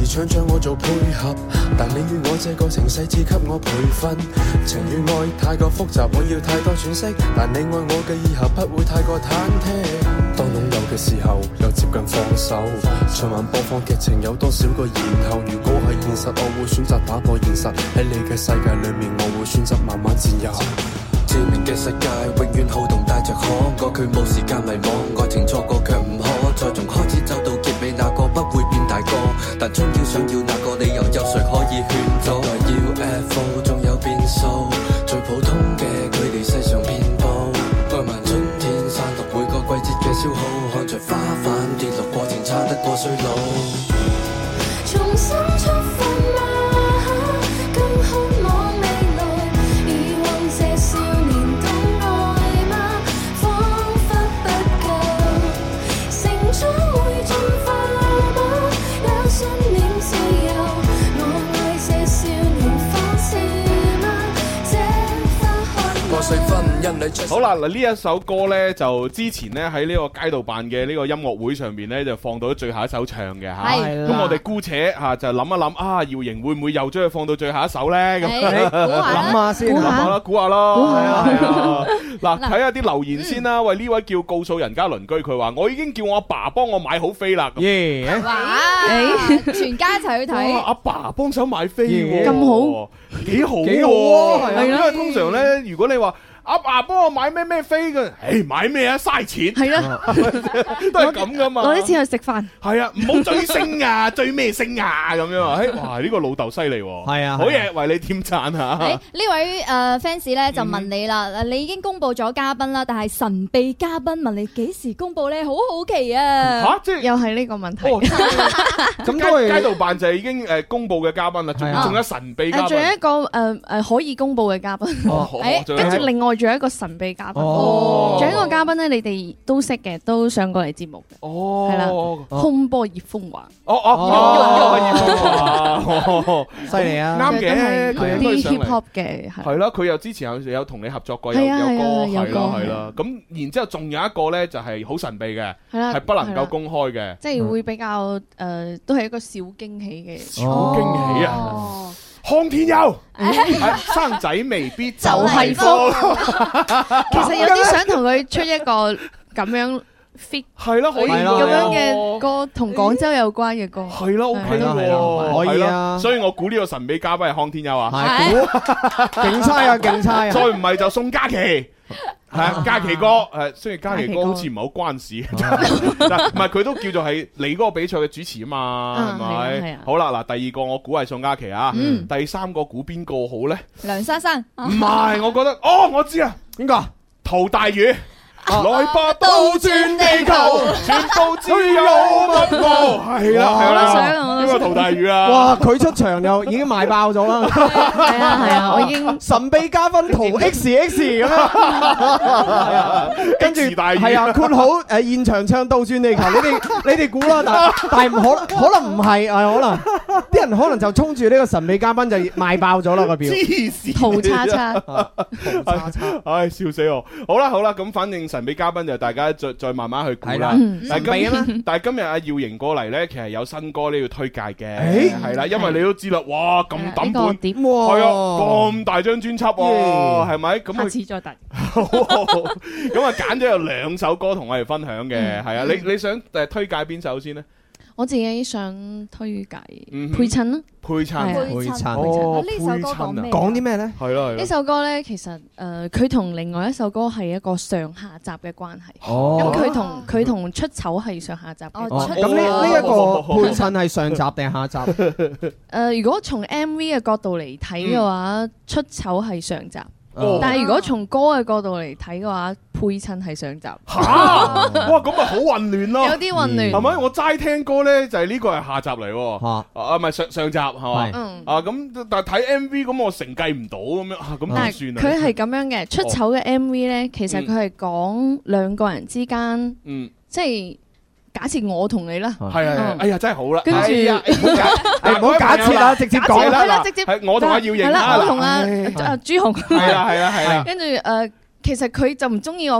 想將我做配合，但你與我這個情勢只給我培訓。情與愛太過複雜，我要太多喘息，但你愛我嘅以後不會太過忐忑。當擁有嘅時候，又接近放手。循環播放劇情有多少個然後？如果係現實，我會選擇打破現實。喺你嘅世界裏面，我會選擇慢慢佔有。致命嘅世界永遠好動帶着可愛，佢冇時間迷惘，愛情錯過卻唔可再從開始走到結尾，那個不會變大個，但終要想要那個理由，有誰可以勸阻？要 F O 仲有變數，最普通嘅佢哋世上遍佈，愛漫春天散落每個季節嘅消耗，看着花瓣跌落過程差得過衰老。 重新出發嗎？更渴望未來，疑惑這少年懂愛嗎？彷彿不夠，成長會進化嗎？有信念自由，我愛這少年放肆嗎？這花開我細分因你出。 好啦，嗱呢一首歌呢，就之前呢喺呢個街道辦嘅呢個音樂會上邊呢，就放到最後一首唱嘅吓。 係咁我哋姑且吓就諗一諗啊，姚瑩會唔會又將佢放到最後一首呢？咁諗下先， 諗下啦，估下咯。係啊係啊。嗱，睇下啲留言先啦。喂，呢位叫告訴人家鄰居，佢話我已經叫我阿爸幫我買好飛啦。 耶！ 哇！全家一齊去睇。 阿爸幫手買飛， 咁好， 幾好， 幾好啊！ 係啊，因為通常咧，如果你話阿爸幫我買咩咩飛嘅，誒買咩啊，嘥錢， 係啊， 都係咁噶嘛。 攞啲錢去食飯， 係啊，唔好追星啊，追咩星啊咁樣啊！誒，哇，呢個老豆犀利喎， 係啊， 好嘢，為你添讚嚇。 誒呢位誒 fans 咧就問你啦，你已經公佈咗嘉賓啦，但係神秘嘉賓問你幾時公佈咧？好好奇啊！ 嚇，即係又係呢個問題。 咁都係街道辦就已經誒公佈嘅嘉賓啦，仲仲有神秘嘉賓， 仲有一個誒誒可以公佈嘅嘉賓。誒，跟住另外仲有一個神秘嘉賓，仲有一個嘉賓咧，你哋都識嘅，都上過嚟節目嘅。 哦， 係啦，空波葉風華。 哦哦，葉風華， 犀利啊！ 啱嘅，佢啲 hip hop 嘅係啦，佢又之前有有同你合作過，有有歌係啦係啦。咁然之後仲有一個咧，就係好神秘嘅，係不能夠公開嘅， 即係會比較誒，都係一個小驚喜嘅。 小驚喜啊！康天庥，生仔未必就係福。 其實有啲想同佢出一個咁樣 fit， 係咯，可以咁樣嘅歌，同廣州有關嘅歌， 係咯 ，OK 咯， 可以啊。 所以我估呢個神秘嘉賓係康天庥啊， 係，勁差啊，勁差啊！ 再唔係就宋嘉琪。係啊，嘉琪哥，誒，雖然嘉琪哥好似唔係好關事，但唔係佢都叫做係你嗰個比賽嘅主持啊嘛，係咪？好啦，嗱，第二個我估係宋嘉琪啊，第三個估邊個好咧？ 梁珊珊， 唔係，我覺得，哦，我知啊，邊個？陶大宇。來吧，倒轉地球，全部只有一個，係啦係啦，呢個陶大宇啊！ 哇，佢出場就已經賣爆咗啦！ 係啊係啊，我已經神秘嘉賓陶 X X 咁樣，跟住係啊，括好誒現場唱倒轉地球，你哋你哋估啦，但但係唔可可能唔係，係可能啲人可能就衝住呢個神秘嘉賓就賣爆咗啦個票。 黐線， 陶叉叉， 陶叉叉， 唉笑死我！好啦好啦，咁反正神秘嘉賓就大家再再慢慢去估啦。但係今但係今日阿耀瑩過嚟咧，其實有新歌呢要推介嘅，係啦，因為你都知啦，哇咁抌本，係啊，咁大張專輯喎，係咪？咁下次再提。 咁啊揀咗有兩首歌同我哋分享嘅，係啊，你你想誒推介邊首先呢？ 我自己想推介配襯啦， 配襯， 配襯， 呢首歌講咩？ 講啲咩咧？ 係咯， 呢首歌咧，其實誒佢同另外一首歌係一個上下集嘅關係。 哦， 咁佢同佢同出醜係上下集嘅。 哦，咁呢呢一個配襯係上集定下集？ 誒，如果從 M V 嘅角度嚟睇嘅話，出醜係上集。但係如果從歌嘅角度嚟睇嘅話，配襯係上集。 嚇！哇，咁咪好混亂咯。 有啲混亂， 係咪？我齋聽歌咧，就係呢個係下集嚟喎。 嚇！ 啊，唔係上上集係嘛？ 嗯。 啊，咁但係睇 M V 咁，我承繼唔到咁樣啊，咁點算啊？ 佢係咁樣嘅，出醜嘅 M V 咧，其實佢係講兩個人之間，嗯，即係。假設我同你啦， 係係，哎呀真係好啦， 跟住唔好假設啦，直接講啦，直接係我同阿耀瑩啦，我同阿阿朱紅， 係啦係啦係啦， 跟住誒，其實佢就唔中意我嘅，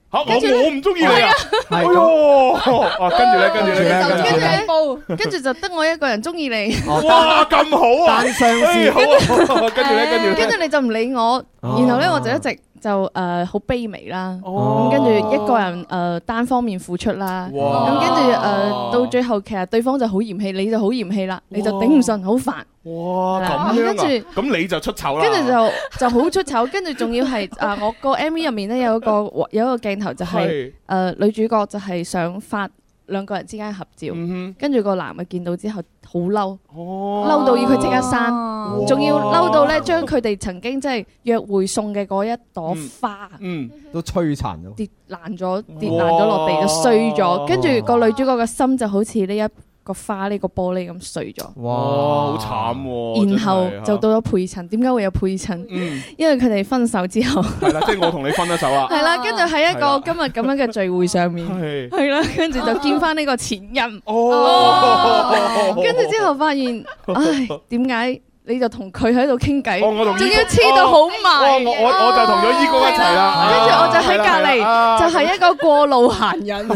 嚇我我唔中意你啊！哎呦，啊跟住咧，跟住咧， 跟住咧，跟住就得我一個人中意你。 哇，咁好啊！ 單相思， 好啊！跟住咧，跟住咧， 跟住你就唔理我，然後咧我就一直就誒好卑微啦。咁跟住一個人誒單方面付出啦。咁跟住誒到最後，其實對方就好嫌棄，你就好嫌棄啦，你就頂唔順，好煩。 哇，咁樣啊！跟住咁你就出醜啦。 跟住就就好出醜，跟住仲要係啊！我個 M V 入面咧有一個有一個鏡頭就係誒女主角就係想發兩個人之間合照，跟住個男嘅見到之後好嬲，嬲到要佢即刻刪，仲要嬲到咧將佢哋曾經即係約會送嘅嗰一朵花， 嗯，都摧殘咗， 跌爛咗，跌爛咗落地就碎咗，跟住個女主角嘅心就好似呢一個花呢個玻璃咁碎咗， 哇，好慘喎！ 然後就到咗配襯，點解會有配襯？因為佢哋分手之後， 係啦，即係我同你分咗手啊！ 係啦，跟住喺一個今日咁樣嘅聚會上面，係啦，跟住就見翻呢個前任，哦，跟住之後發現，唉，點解？你就同佢喺度傾偈，仲要黐到好埋。 我我我就同咗依哥一齊啦， 跟住我就喺隔離，就係一個過路閒人。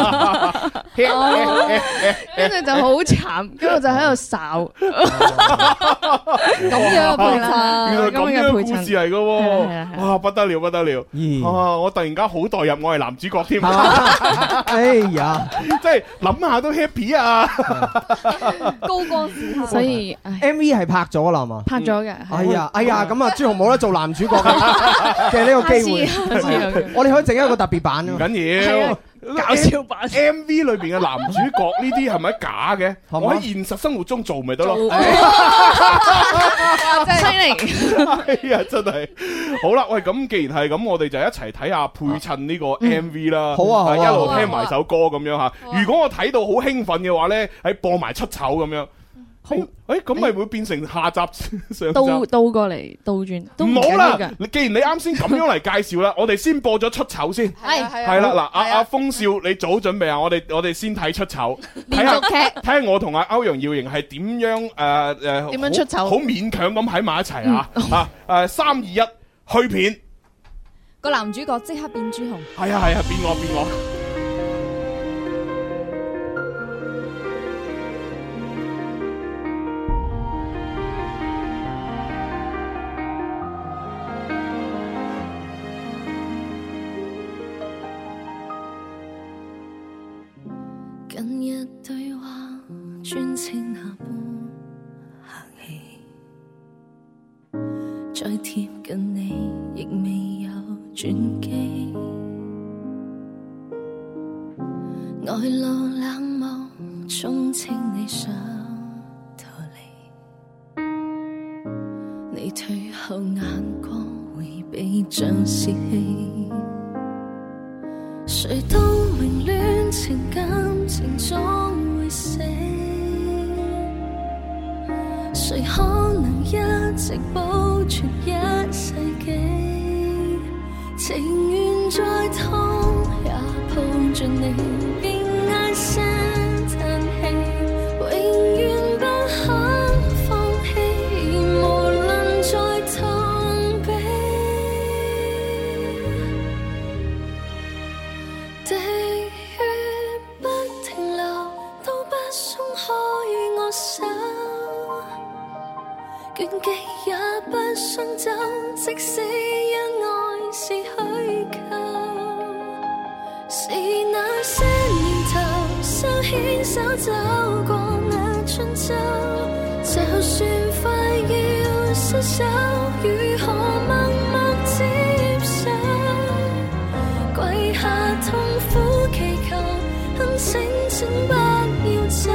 跟住就好慘，跟住我就喺度哨。咁樣嘅配襯， 原來咁樣嘅故事嚟嘅喎，哇不得了不得了！啊，我突然間好代入，我係男主角添。 哎呀， 即係諗下都 happy 啊！ 高光時刻， 所以 M V 係拍咗啦嘛， 拍咗嘅。 哎呀，哎呀，咁啊，朱紅冇得做男主角嘅呢個機會，我哋可以整一個特別版啊， 唔緊要， 搞笑版 M V 裏邊嘅男主角呢啲係咪假嘅？我喺現實生活中做咪得咯。 犀利！ 哎呀，真係好啦，喂，咁既然係咁，我哋就一齊睇下配襯呢個 M V 啦。 好啊， 一路聽埋首歌咁樣吓。如果我睇到好興奮嘅話咧，喺播埋出醜咁樣。誒，咁咪會變成下集上集倒倒過嚟倒轉， 唔好啦！你既然你啱先咁樣嚟介紹啦，我哋先播咗出醜先。 係係係啦，嗱，阿阿風少，你早準備啊！我哋我哋先睇出醜， 連續劇， 睇下我同阿歐陽耀瑩係點樣誒誒， 點樣出醜？ 好勉強咁喺埋一齊啊！啊誒，三二一，去片。 個男主角即刻變朱紅。 係啊係啊，變我變我。 近日對話專稱下般客氣，再貼近你亦未有轉機，外露冷漠充斥你想逃離，你退後眼光迴避像泄氣，誰都明戀情感情總會死，誰可能一直保存一世紀，情願再痛也抱着你，別唉聲嘆氣，永遠不肯放棄，無論再痛悲，地血不停留，都不鬆開我手，倦極也不想走，即使因愛是虛構，是那些年頭手牽手走過那春秋，就算快要失手，如何默默接受，跪下痛苦祈求，懇請請不要走，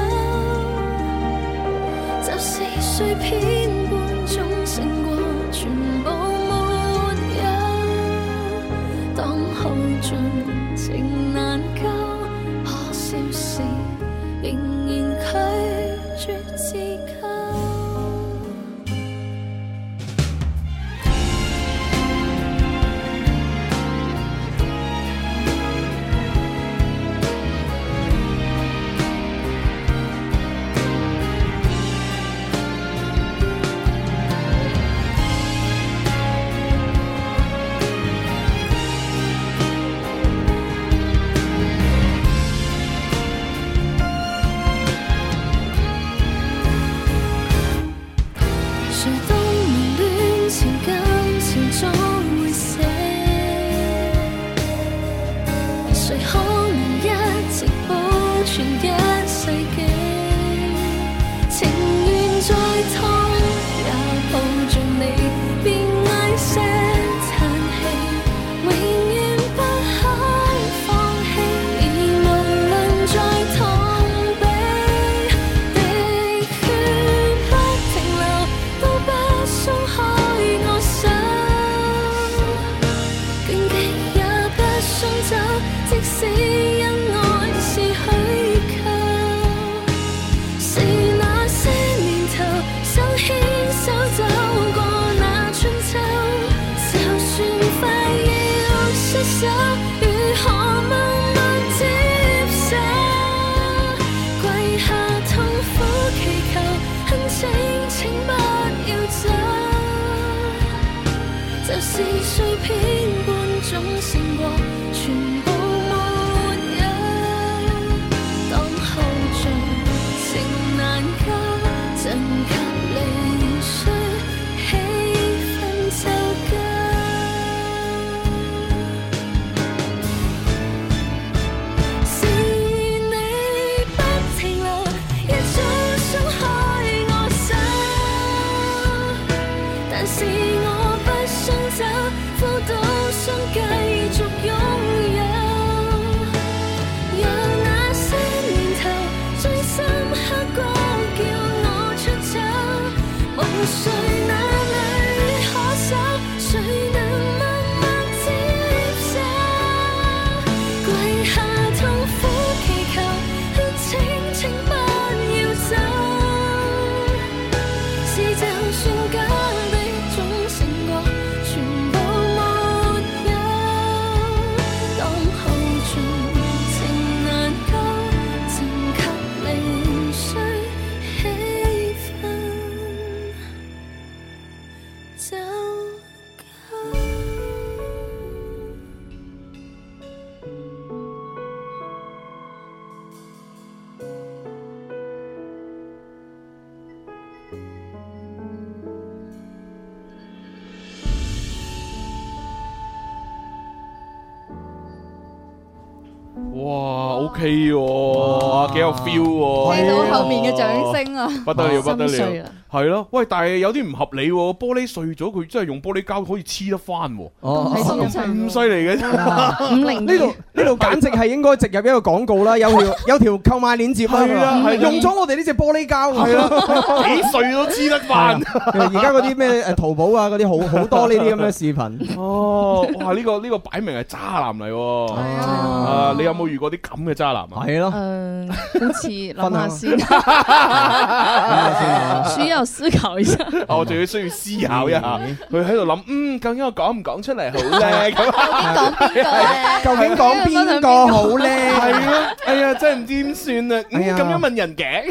就是碎片般總勝過全部沒有，當耗盡情難救，可笑是仍然拒絕自救。 是碎片般總勝過全部沒有。當後盡情難救，震及離碎，氣氛就夠。是你不停留，一早鬆開我手，但是我不想走，苦到想繼續擁有。有那些年頭最深刻過叫我出走，無誰那裏可守，誰能默默接受？跪下痛苦祈求，請請不要走。是就算假的總勝過全部沒有。當後盡情難救，震及離碎，氣氛就夠。 哇，OK 喎，幾有 feel 喎， 聽到後面嘅掌聲啊， 不得了不得了心碎啦， 係咯，喂，但係有啲唔合理喎，玻璃碎咗，佢真係用玻璃膠可以黐得翻喎， 哦咁咁犀利嘅啫， 五零呢度呢度簡直係應該植入一個廣告啦，有條有條購買鏈接啦， 係啊係啊用咗我哋呢隻玻璃膠， 係啊，幾碎都黐得翻。 而家嗰啲咩誒淘寶啊嗰啲好好多呢啲咁嘅視頻。 哦，哇！呢個呢個擺明係渣男嚟喎，係啊，你有冇遇過啲咁嘅渣男啊？ 係咯， 誒，好似諗下先，需要思考一下。 我仲要需要思考一下，佢喺度諗，嗯，究竟我講唔講出嚟好咧？咁究竟講邊個好咧？ 係咯，哎呀，真係唔知點算啊！咁樣問人嘅。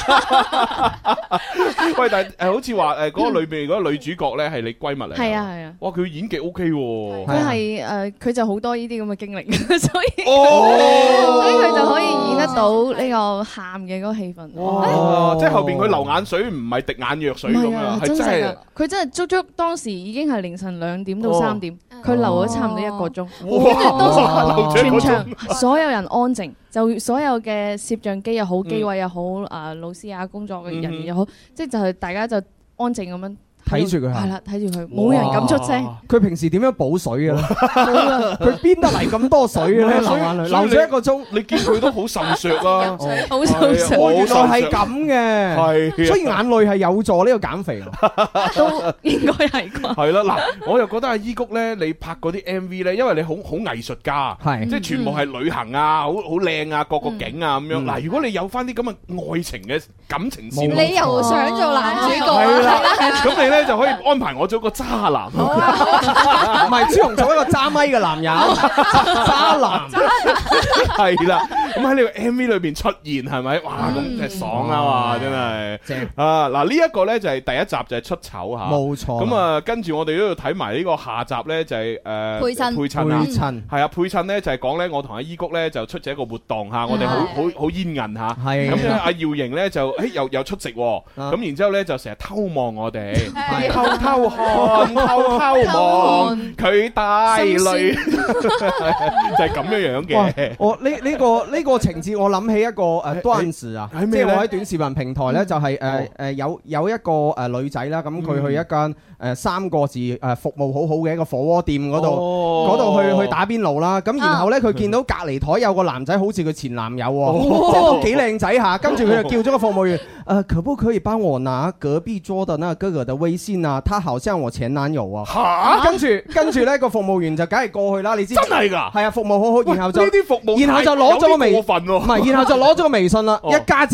喂，但係誒，好似話誒嗰個裏邊嗰個女主角咧係你閨蜜嚟， 係啊係啊。 哇，佢演技 O K 喎。 佢係誒，佢就好多呢啲咁嘅經歷，所以哦， 所以佢就可以演得到呢個喊嘅嗰個氣氛。 哇！即係後邊佢流眼水唔係滴眼藥水咁啊，係真係。 佢真係足足當時已經係凌晨兩點到三點，佢流咗差唔多一個鐘。 哇！ 全場所有人安靜，就所有嘅攝像機又好，機位又好，啊老師啊工作嘅人員又好，即係就係大家就安靜咁樣睇住佢， 係啦，睇住佢，冇人敢出聲。 佢平時點樣補水嘅咧？佢邊得嚟咁多水嘅咧？流眼淚，流咗一個鐘， 你見佢都好受削啊， 好受削。 原來係咁嘅， 係， 所以眼淚係有助呢個減肥， 都應該係啩。 係啦，嗱，我又覺得阿伊谷咧，你拍嗰啲 M V 咧，因為你好好藝術家， 係， 即係全部係旅行啊，好好靚啊，各個景啊咁樣。嗱，如果你有翻啲咁嘅愛情嘅感情線， 你又想做男主角係啦， 係啦， 咁你咧就可以安排我做一個渣男， 唔係朱紅做一個揸咪嘅男人，渣男， 係啦。咁喺呢個 M V 裏邊出現係咪？哇，咁真係爽啊嘛，真係。正啊！嗱，呢一個咧就係第一集就係出醜嚇， 冇錯。 咁啊，跟住我哋都要睇埋呢個下集咧，就係誒配襯配襯啊， 配襯係啊，配襯咧就係講咧，我同阿伊谷咧就出席一個活動嚇，我哋好好好煙韌嚇， 係咁咧阿耀瑩咧就誒又又出席喎，咁然之後咧就成日偷望我哋，偷偷看，偷偷望佢帶淚，就係咁樣樣嘅。 我呢呢個呢個情節，我諗起一個誒段子啊，即係我喺短視頻平台咧，就係誒誒有有一個誒女仔啦，咁佢去一間誒三個字誒服務好好嘅一個火鍋店嗰度，嗰度去去打邊爐啦。咁然後咧，佢見到隔離台有個男仔，好似佢前男友喎，即係都幾靚仔下。跟住佢就叫咗個服務員，誒，可不可以幫我拿隔壁桌的那個哥哥的微信啊？他好像我前男友啊。嚇！跟住跟住咧，個服務員就梗係過去啦。你知真係㗎？ 係啊，服務好好，然後就呢啲服務然後就攞咗個微過分喎， 唔係，然後就攞咗個微信啦。一加之後。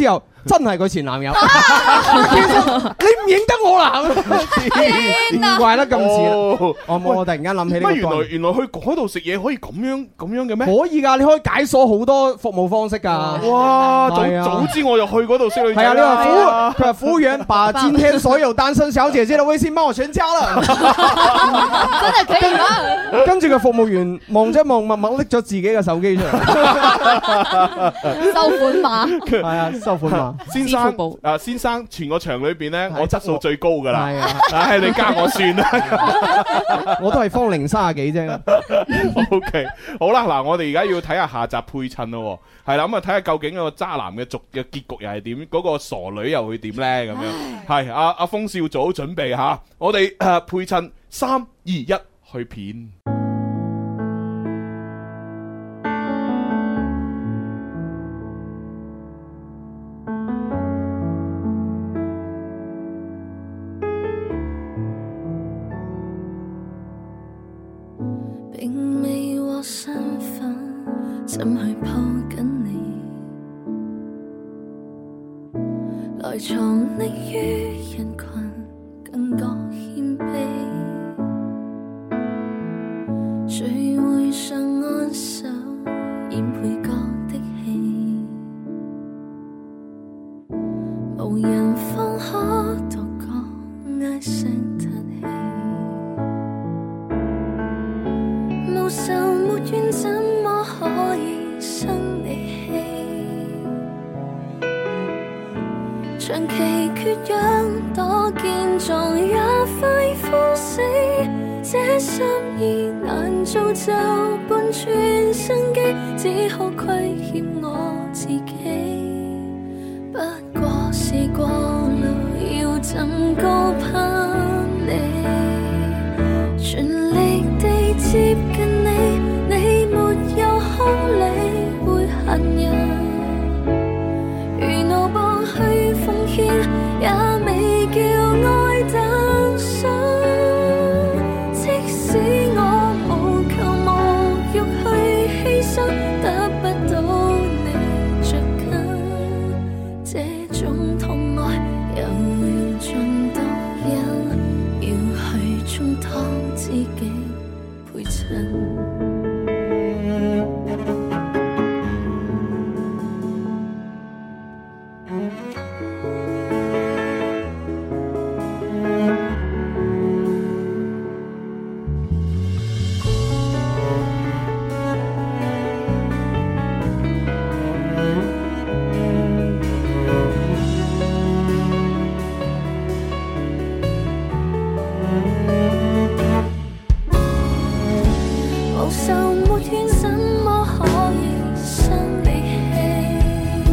真係佢前男友。你唔認得我啦？唔怪得咁似啦。我我突然間諗起呢個。 乜原來原來去嗰度食嘢可以咁樣咁樣嘅咩？ 可以㗎，你可以解鎖好多服務方式㗎。 哇！早早知我就去嗰度識女仔。 係啊，你話服務佢話服務員把今天所有單身小姐姐嘅微信幫我全加啦。 真係可以嗎？ 跟住個服務員望一望，默默拎咗自己嘅手機出嚟， 收款碼。 係啊，收款碼。 先生啊，先生，全個場裏邊咧，我質素最高㗎啦。係啊，唉，你加我算啦。 我都係方零三十幾啫。 O K， 好啦，嗱，我哋而家要睇下下集配襯咯，係啦，咁啊睇下究竟個渣男嘅續嘅結局又係點，嗰個傻女又會點咧？咁樣係阿阿峰少做好準備吓，我哋誒配襯三二一去片。 並未獲身份，怎去抱緊你？來藏匿於人群，更覺謙卑。聚會上安守，演配角的戲，無人方可獨個唉聲嘆氣。無仇沒怨，怎麼可以生你氣？長期缺氧，多健壯也快枯死。這心意難造就半寸生機，只好虧欠我自己。不過是過路，要怎高攀你？全力地接近你，你沒有空理會恨人。如怒bor去奉獻，也未叫愛誕生。即使我無求無欲去犧牲，得不到你着緊，這種痛愛又要盡到因，要去充當知己陪襯。無仇沒怨，怎麼可以生你氣？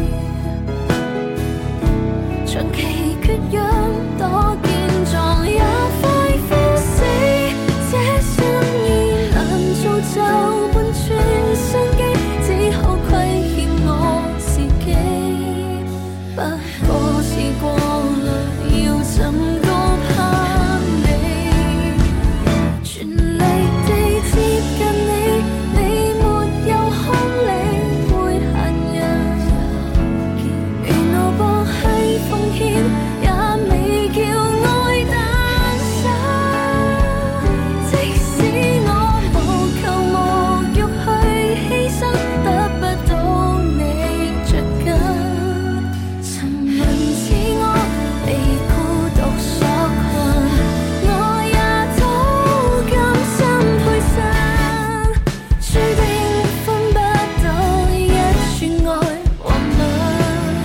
長期缺氧，多健壯也快枯死。這心意難造就半寸生機，只好虧欠我自己。不過是過來，要怎高攀你？全力地接近你，你沒有空理會恨人。如怒bor去奉獻，也未叫愛誕生。即使我無求無欲去犧牲，得不到你着緊。沉淪似我，被孤獨所困，我也都甘心配襯。注定分不到一串愛和吻，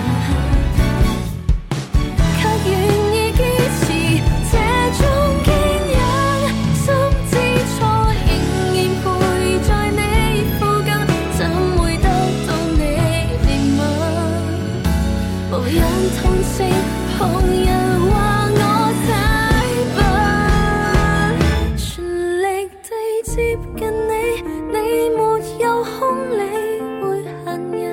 卻願意堅持這種堅忍。心知錯，仍然陪在你附近，怎會得到你憐憫？無人同情，旁人話我太笨。全力地接近你，你沒有空理會恨人。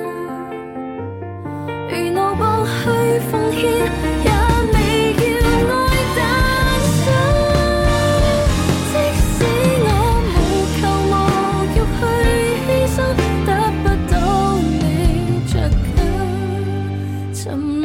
如怒bor去奉獻，也未叫愛誕生。即使我無求無欲去犧牲，得不到你着緊。沉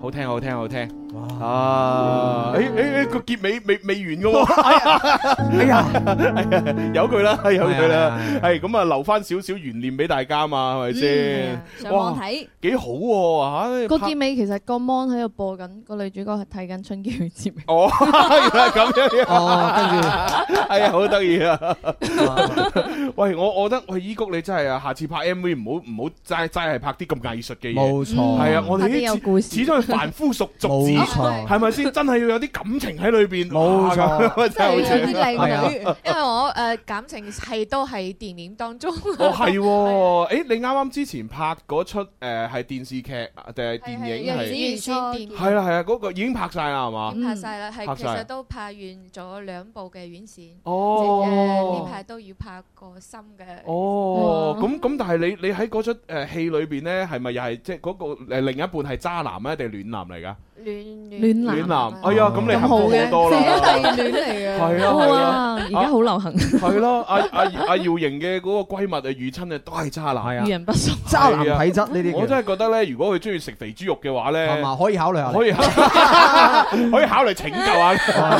好聽好聽好聽，啊！誒誒誒，個結尾未未完噶喎，哎呀，有佢啦，有佢啦，係咁啊，留翻少少懸念俾大家嘛，係咪先？ 上網睇幾好喎嚇！ 個結尾其實個 mon 喺度播緊，個女主角係睇緊春嬌嘅節目。 哦，原來咁樣。 哦，跟住， 哎呀，好得意啊！喂，我我覺得喂，依谷你真係啊，下次拍 M V 唔好唔好齋齋係拍啲咁藝術嘅嘢。 冇錯， 係啊，我哋啲故事始終係凡夫俗俗子， 冇錯， 係咪先？真係要有啲感情喺裏邊。 冇錯， 真係有啲靚女。 因為我誒感情戲都係電影當中。 哦，係喎，誒，你啱啱之前拍嗰出誒係電視劇定係電影係？係啦係啊，嗰個已經拍晒啦係嘛？ 拍晒啦，係其實都拍完咗兩部嘅院線。 哦， 呢排都要拍個新嘅。 哦，咁咁，但係你你喺嗰出誒戲裏邊咧，係咪又係即係嗰個誒另一半係渣男啊，定係暖男嚟㗎？ 暖暖男，哎呀，咁你幸福好多啦， 姐弟戀嚟嘅， 係啊係啊， 而家好流行， 係咯，阿阿阿姚瑩嘅嗰個閨蜜啊，遇親啊都係渣男，係啊， 遇人不淑， 渣男體質呢啲， 我真係覺得咧，如果佢中意食肥豬肉嘅話咧， 係嘛，可以考慮下， 可以可以考慮拯救下，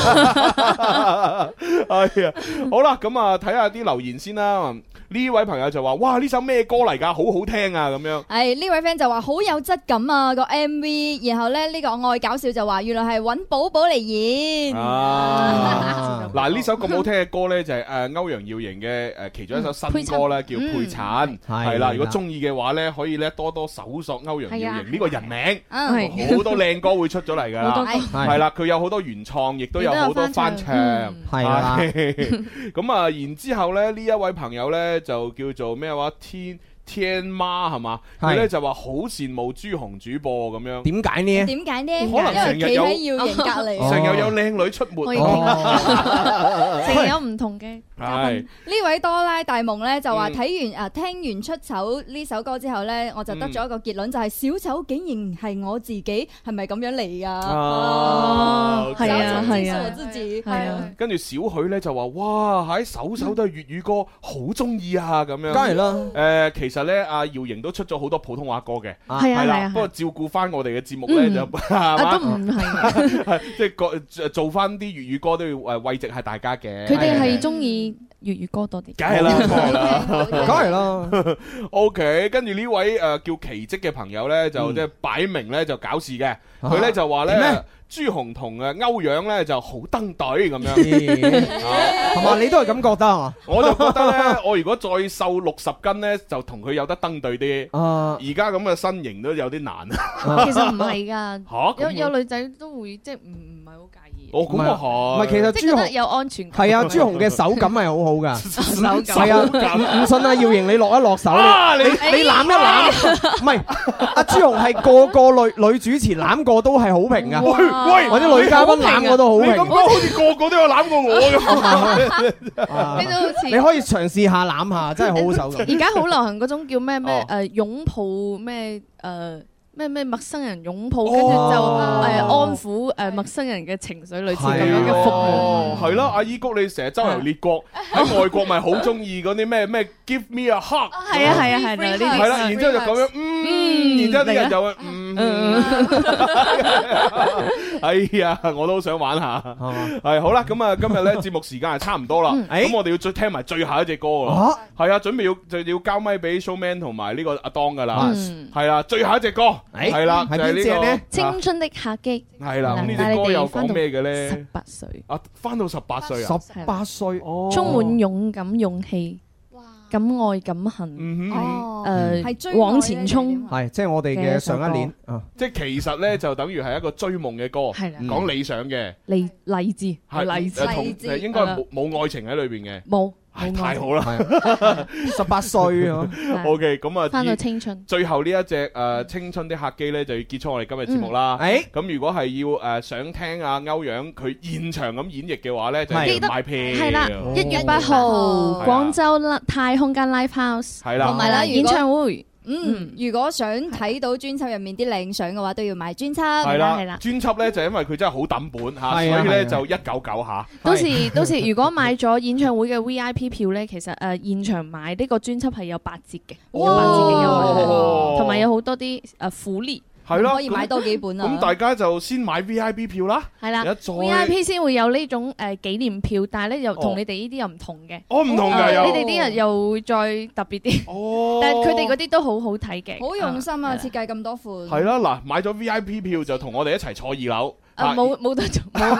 係啊，好啦，咁啊睇下啲留言先啦。呢位朋友就話：哇，呢首咩歌嚟㗎？好好聽啊！咁樣。 係呢位 friend 就話好有質感啊個 M V，然後咧呢個愛搞笑就話原來係揾寶寶嚟演。 啊！嗱呢首咁好聽嘅歌咧，就係誒歐陽耀瑩嘅誒其中一首新歌咧，叫《配襯》。係啦，如果中意嘅話咧，可以咧多多搜索歐陽耀瑩呢個人名，好多靚歌會出咗嚟㗎啦。係啦，佢有好多原創，亦都有好多翻唱。係啦。咁啊，然之後咧呢一位朋友咧。就叫做咩話天天媽係嘛？佢咧就話好羨慕朱紅主播咁樣。點解呢？ 點解呢？ 可能成日有企喺耀瑩隔離， 成日有靚女出沒， 成日有唔同嘅。 係呢位多拉大夢咧就話睇完啊聽完出醜呢首歌之後咧，我就得咗一個結論，就係小丑竟然係我自己，係咪咁樣嚟㗎？ 哦，係啊係啊， 我自己係啊。 跟住小許咧就話：哇，喺首首都係粵語歌，好中意啊咁樣。 梗係啦。 誒，其實咧，阿姚瑩都出咗好多普通話歌嘅， 係啊係啊。 不過照顧翻我哋嘅節目咧，就啊都唔係， 即係個做翻啲粵語歌都要誒慰藉下大家嘅。 佢哋係中意粵語歌多啲， 梗係啦， 梗係啦。 OK，跟住呢位誒叫奇蹟嘅朋友咧，就即係擺明咧就搞事嘅，佢咧就話咧。朱紅同誒歐陽咧就好登對咁樣， 係嘛？你都係咁覺得係嘛？ 我就覺得咧，我如果再瘦六十斤咧，就同佢有得登對啲。而家咁嘅身形都有啲難。 其實唔係㗎， 嚇有有女仔都會即係唔唔係好介意。 哦，咁啊係。 唔係，其實朱紅有安全感。 係啊，朱紅嘅手感係好好㗎。 手感係啊，唔信啊，耀瑩你落一落手，你你攬一攬。唔係，阿朱紅係個個女女主持攬過都係好評㗎。 喂， 或者女嘉賓攬過都好評， 你咁講好似個個都有攬過我咁。 你都好似你可以嘗試下攬下，真係好好手感。 而家好流行嗰種叫咩咩誒擁抱咩誒咩咩陌生人擁抱，跟住就誒安撫誒陌生人嘅情緒，類似咁樣嘅服務。 係咯，阿依谷你成日周遊列國，喺外國咪好中意嗰啲咩咩 Give me a hug。 係啊係啊係啦，呢啲係啦，然之後就咁樣嗯，然之後啲人就會嗯。哎呀，我都想玩下。係好啦，咁啊，今日咧節目時間係差唔多啦。咁我哋要再聽埋最後一隻歌啦。係啊，準備要就要交咪俾 Showman 同埋呢個阿當噶啦。係啦，最後一隻歌係啦，就係呢個青春的客機。 係啦，咁呢隻歌又講咩嘅咧？ 十八歲啊，翻到十八歲啊， 十八歲， 充滿勇敢勇氣。敢愛敢恨，誒往前衝， 係即係我哋嘅上一年， 即係其實咧就等於係一個追夢嘅歌，講理想嘅， 勵勵志， 係勵志， 同應該冇冇愛情喺裏邊嘅， 冇， 太好啦， 十八歲啊 ，OK，咁啊， 翻到青春， 最後呢一隻誒青春的客機咧就要結束我哋今日節目啦，誒，咁如果係要誒想聽阿歐陽佢現場咁演繹嘅話咧，就記得買票， 係啦，一月八號廣州太空間 Live House， 係啦， 同埋啦演唱會。 嗯，如果想睇到專輯入面啲靚相嘅話，都要買專輯。 係啦，係啦。專輯咧就因為佢真係好抌本嚇，所以咧就一九九嚇。 到時到時如果買咗演唱會嘅 V I P 票咧，其實誒現場買呢個專輯係有八折嘅，有八折嘅優惠，同埋有好多啲誒福利。 係啦， 可以買多幾本啊。 咁大家就先買 V I P 票啦。 係啦再 ，V I P 先會有呢種誒紀念票，但係咧又同你哋呢啲又唔同嘅。 哦，唔同㗎又。 你哋啲人又會再特別啲。 哦。 但係佢哋嗰啲都好好睇嘅。 好用心啊！設計咁多款。 係啦，嗱，買咗 V I P 票就同我哋一齊坐二樓。 啊，冇冇得做，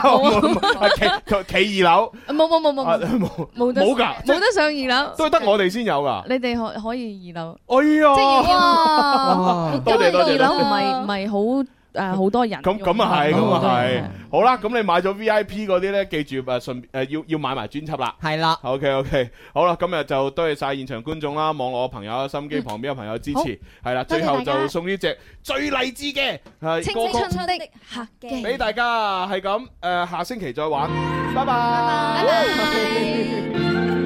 企企二樓。 冇冇冇冇冇冇得冇㗎， 冇得上二樓。 都係得我哋先有㗎。 你哋可可以二樓。 哎呀！ 即係哇！多謝多謝。 二樓唔係唔係好。誒好多人咁咁啊係，咁啊係，好啦，咁你買咗 V I P 嗰啲咧，記住誒順誒要要買埋專輯啦。 係啦 ，OK OK，好啦，今日就多謝曬現場觀眾啦，網絡嘅朋友、心機旁邊嘅朋友支持，係啦，最後就送呢隻最勵志嘅係青春的客機俾大家，係咁誒，下星期再玩，拜拜， 拜拜。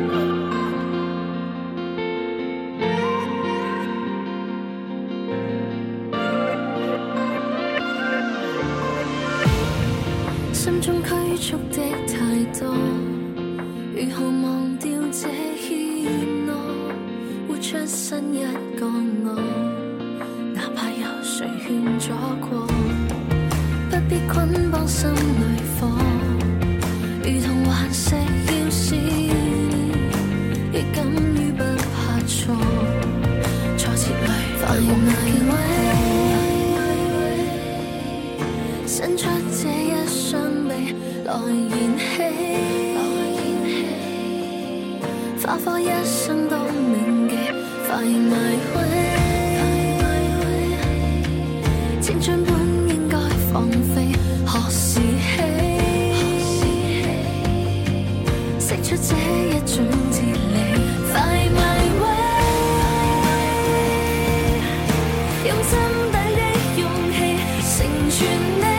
心中拘束的太多，如何忘掉這牽諾？活出新一個我，哪怕有誰勸阻過，不必捆綁心裏火，如同頑石要試煉，亦敢於不怕錯，挫折裏發現危機，伸出這一雙臂來燃起，花火一生都銘記，快埋位，青春本應該放飛，何時起，釋出這一種哲理，快埋位，用心底的勇氣成全你。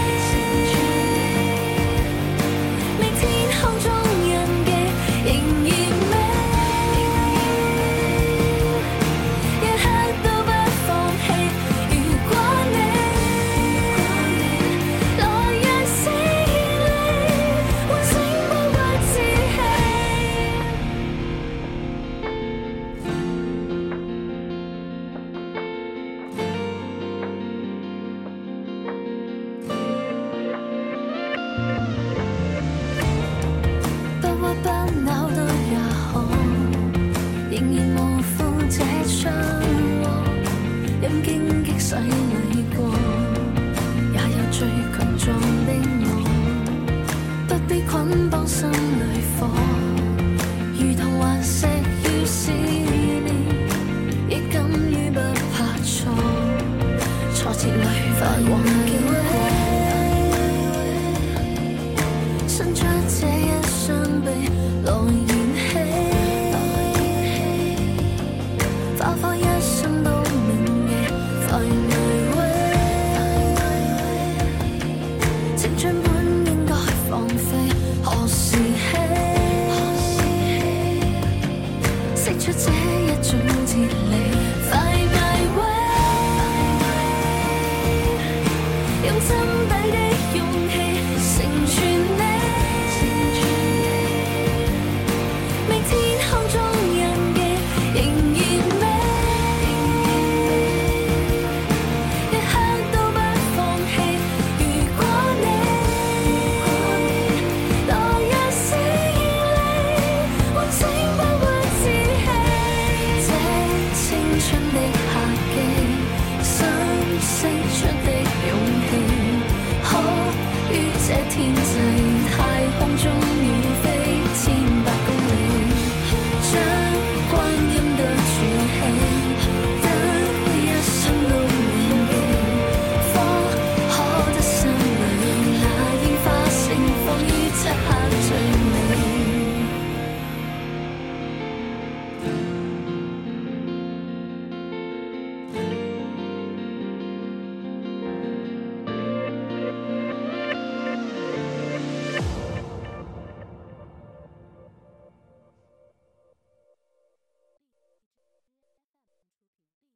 洗禮過，也有最強壯的我，不必捆綁心裏火，如同頑石要試煉，亦甘於不怕錯，挫折裏發黃叫，伸出這一雙臂來燃起，花火一生都銘記。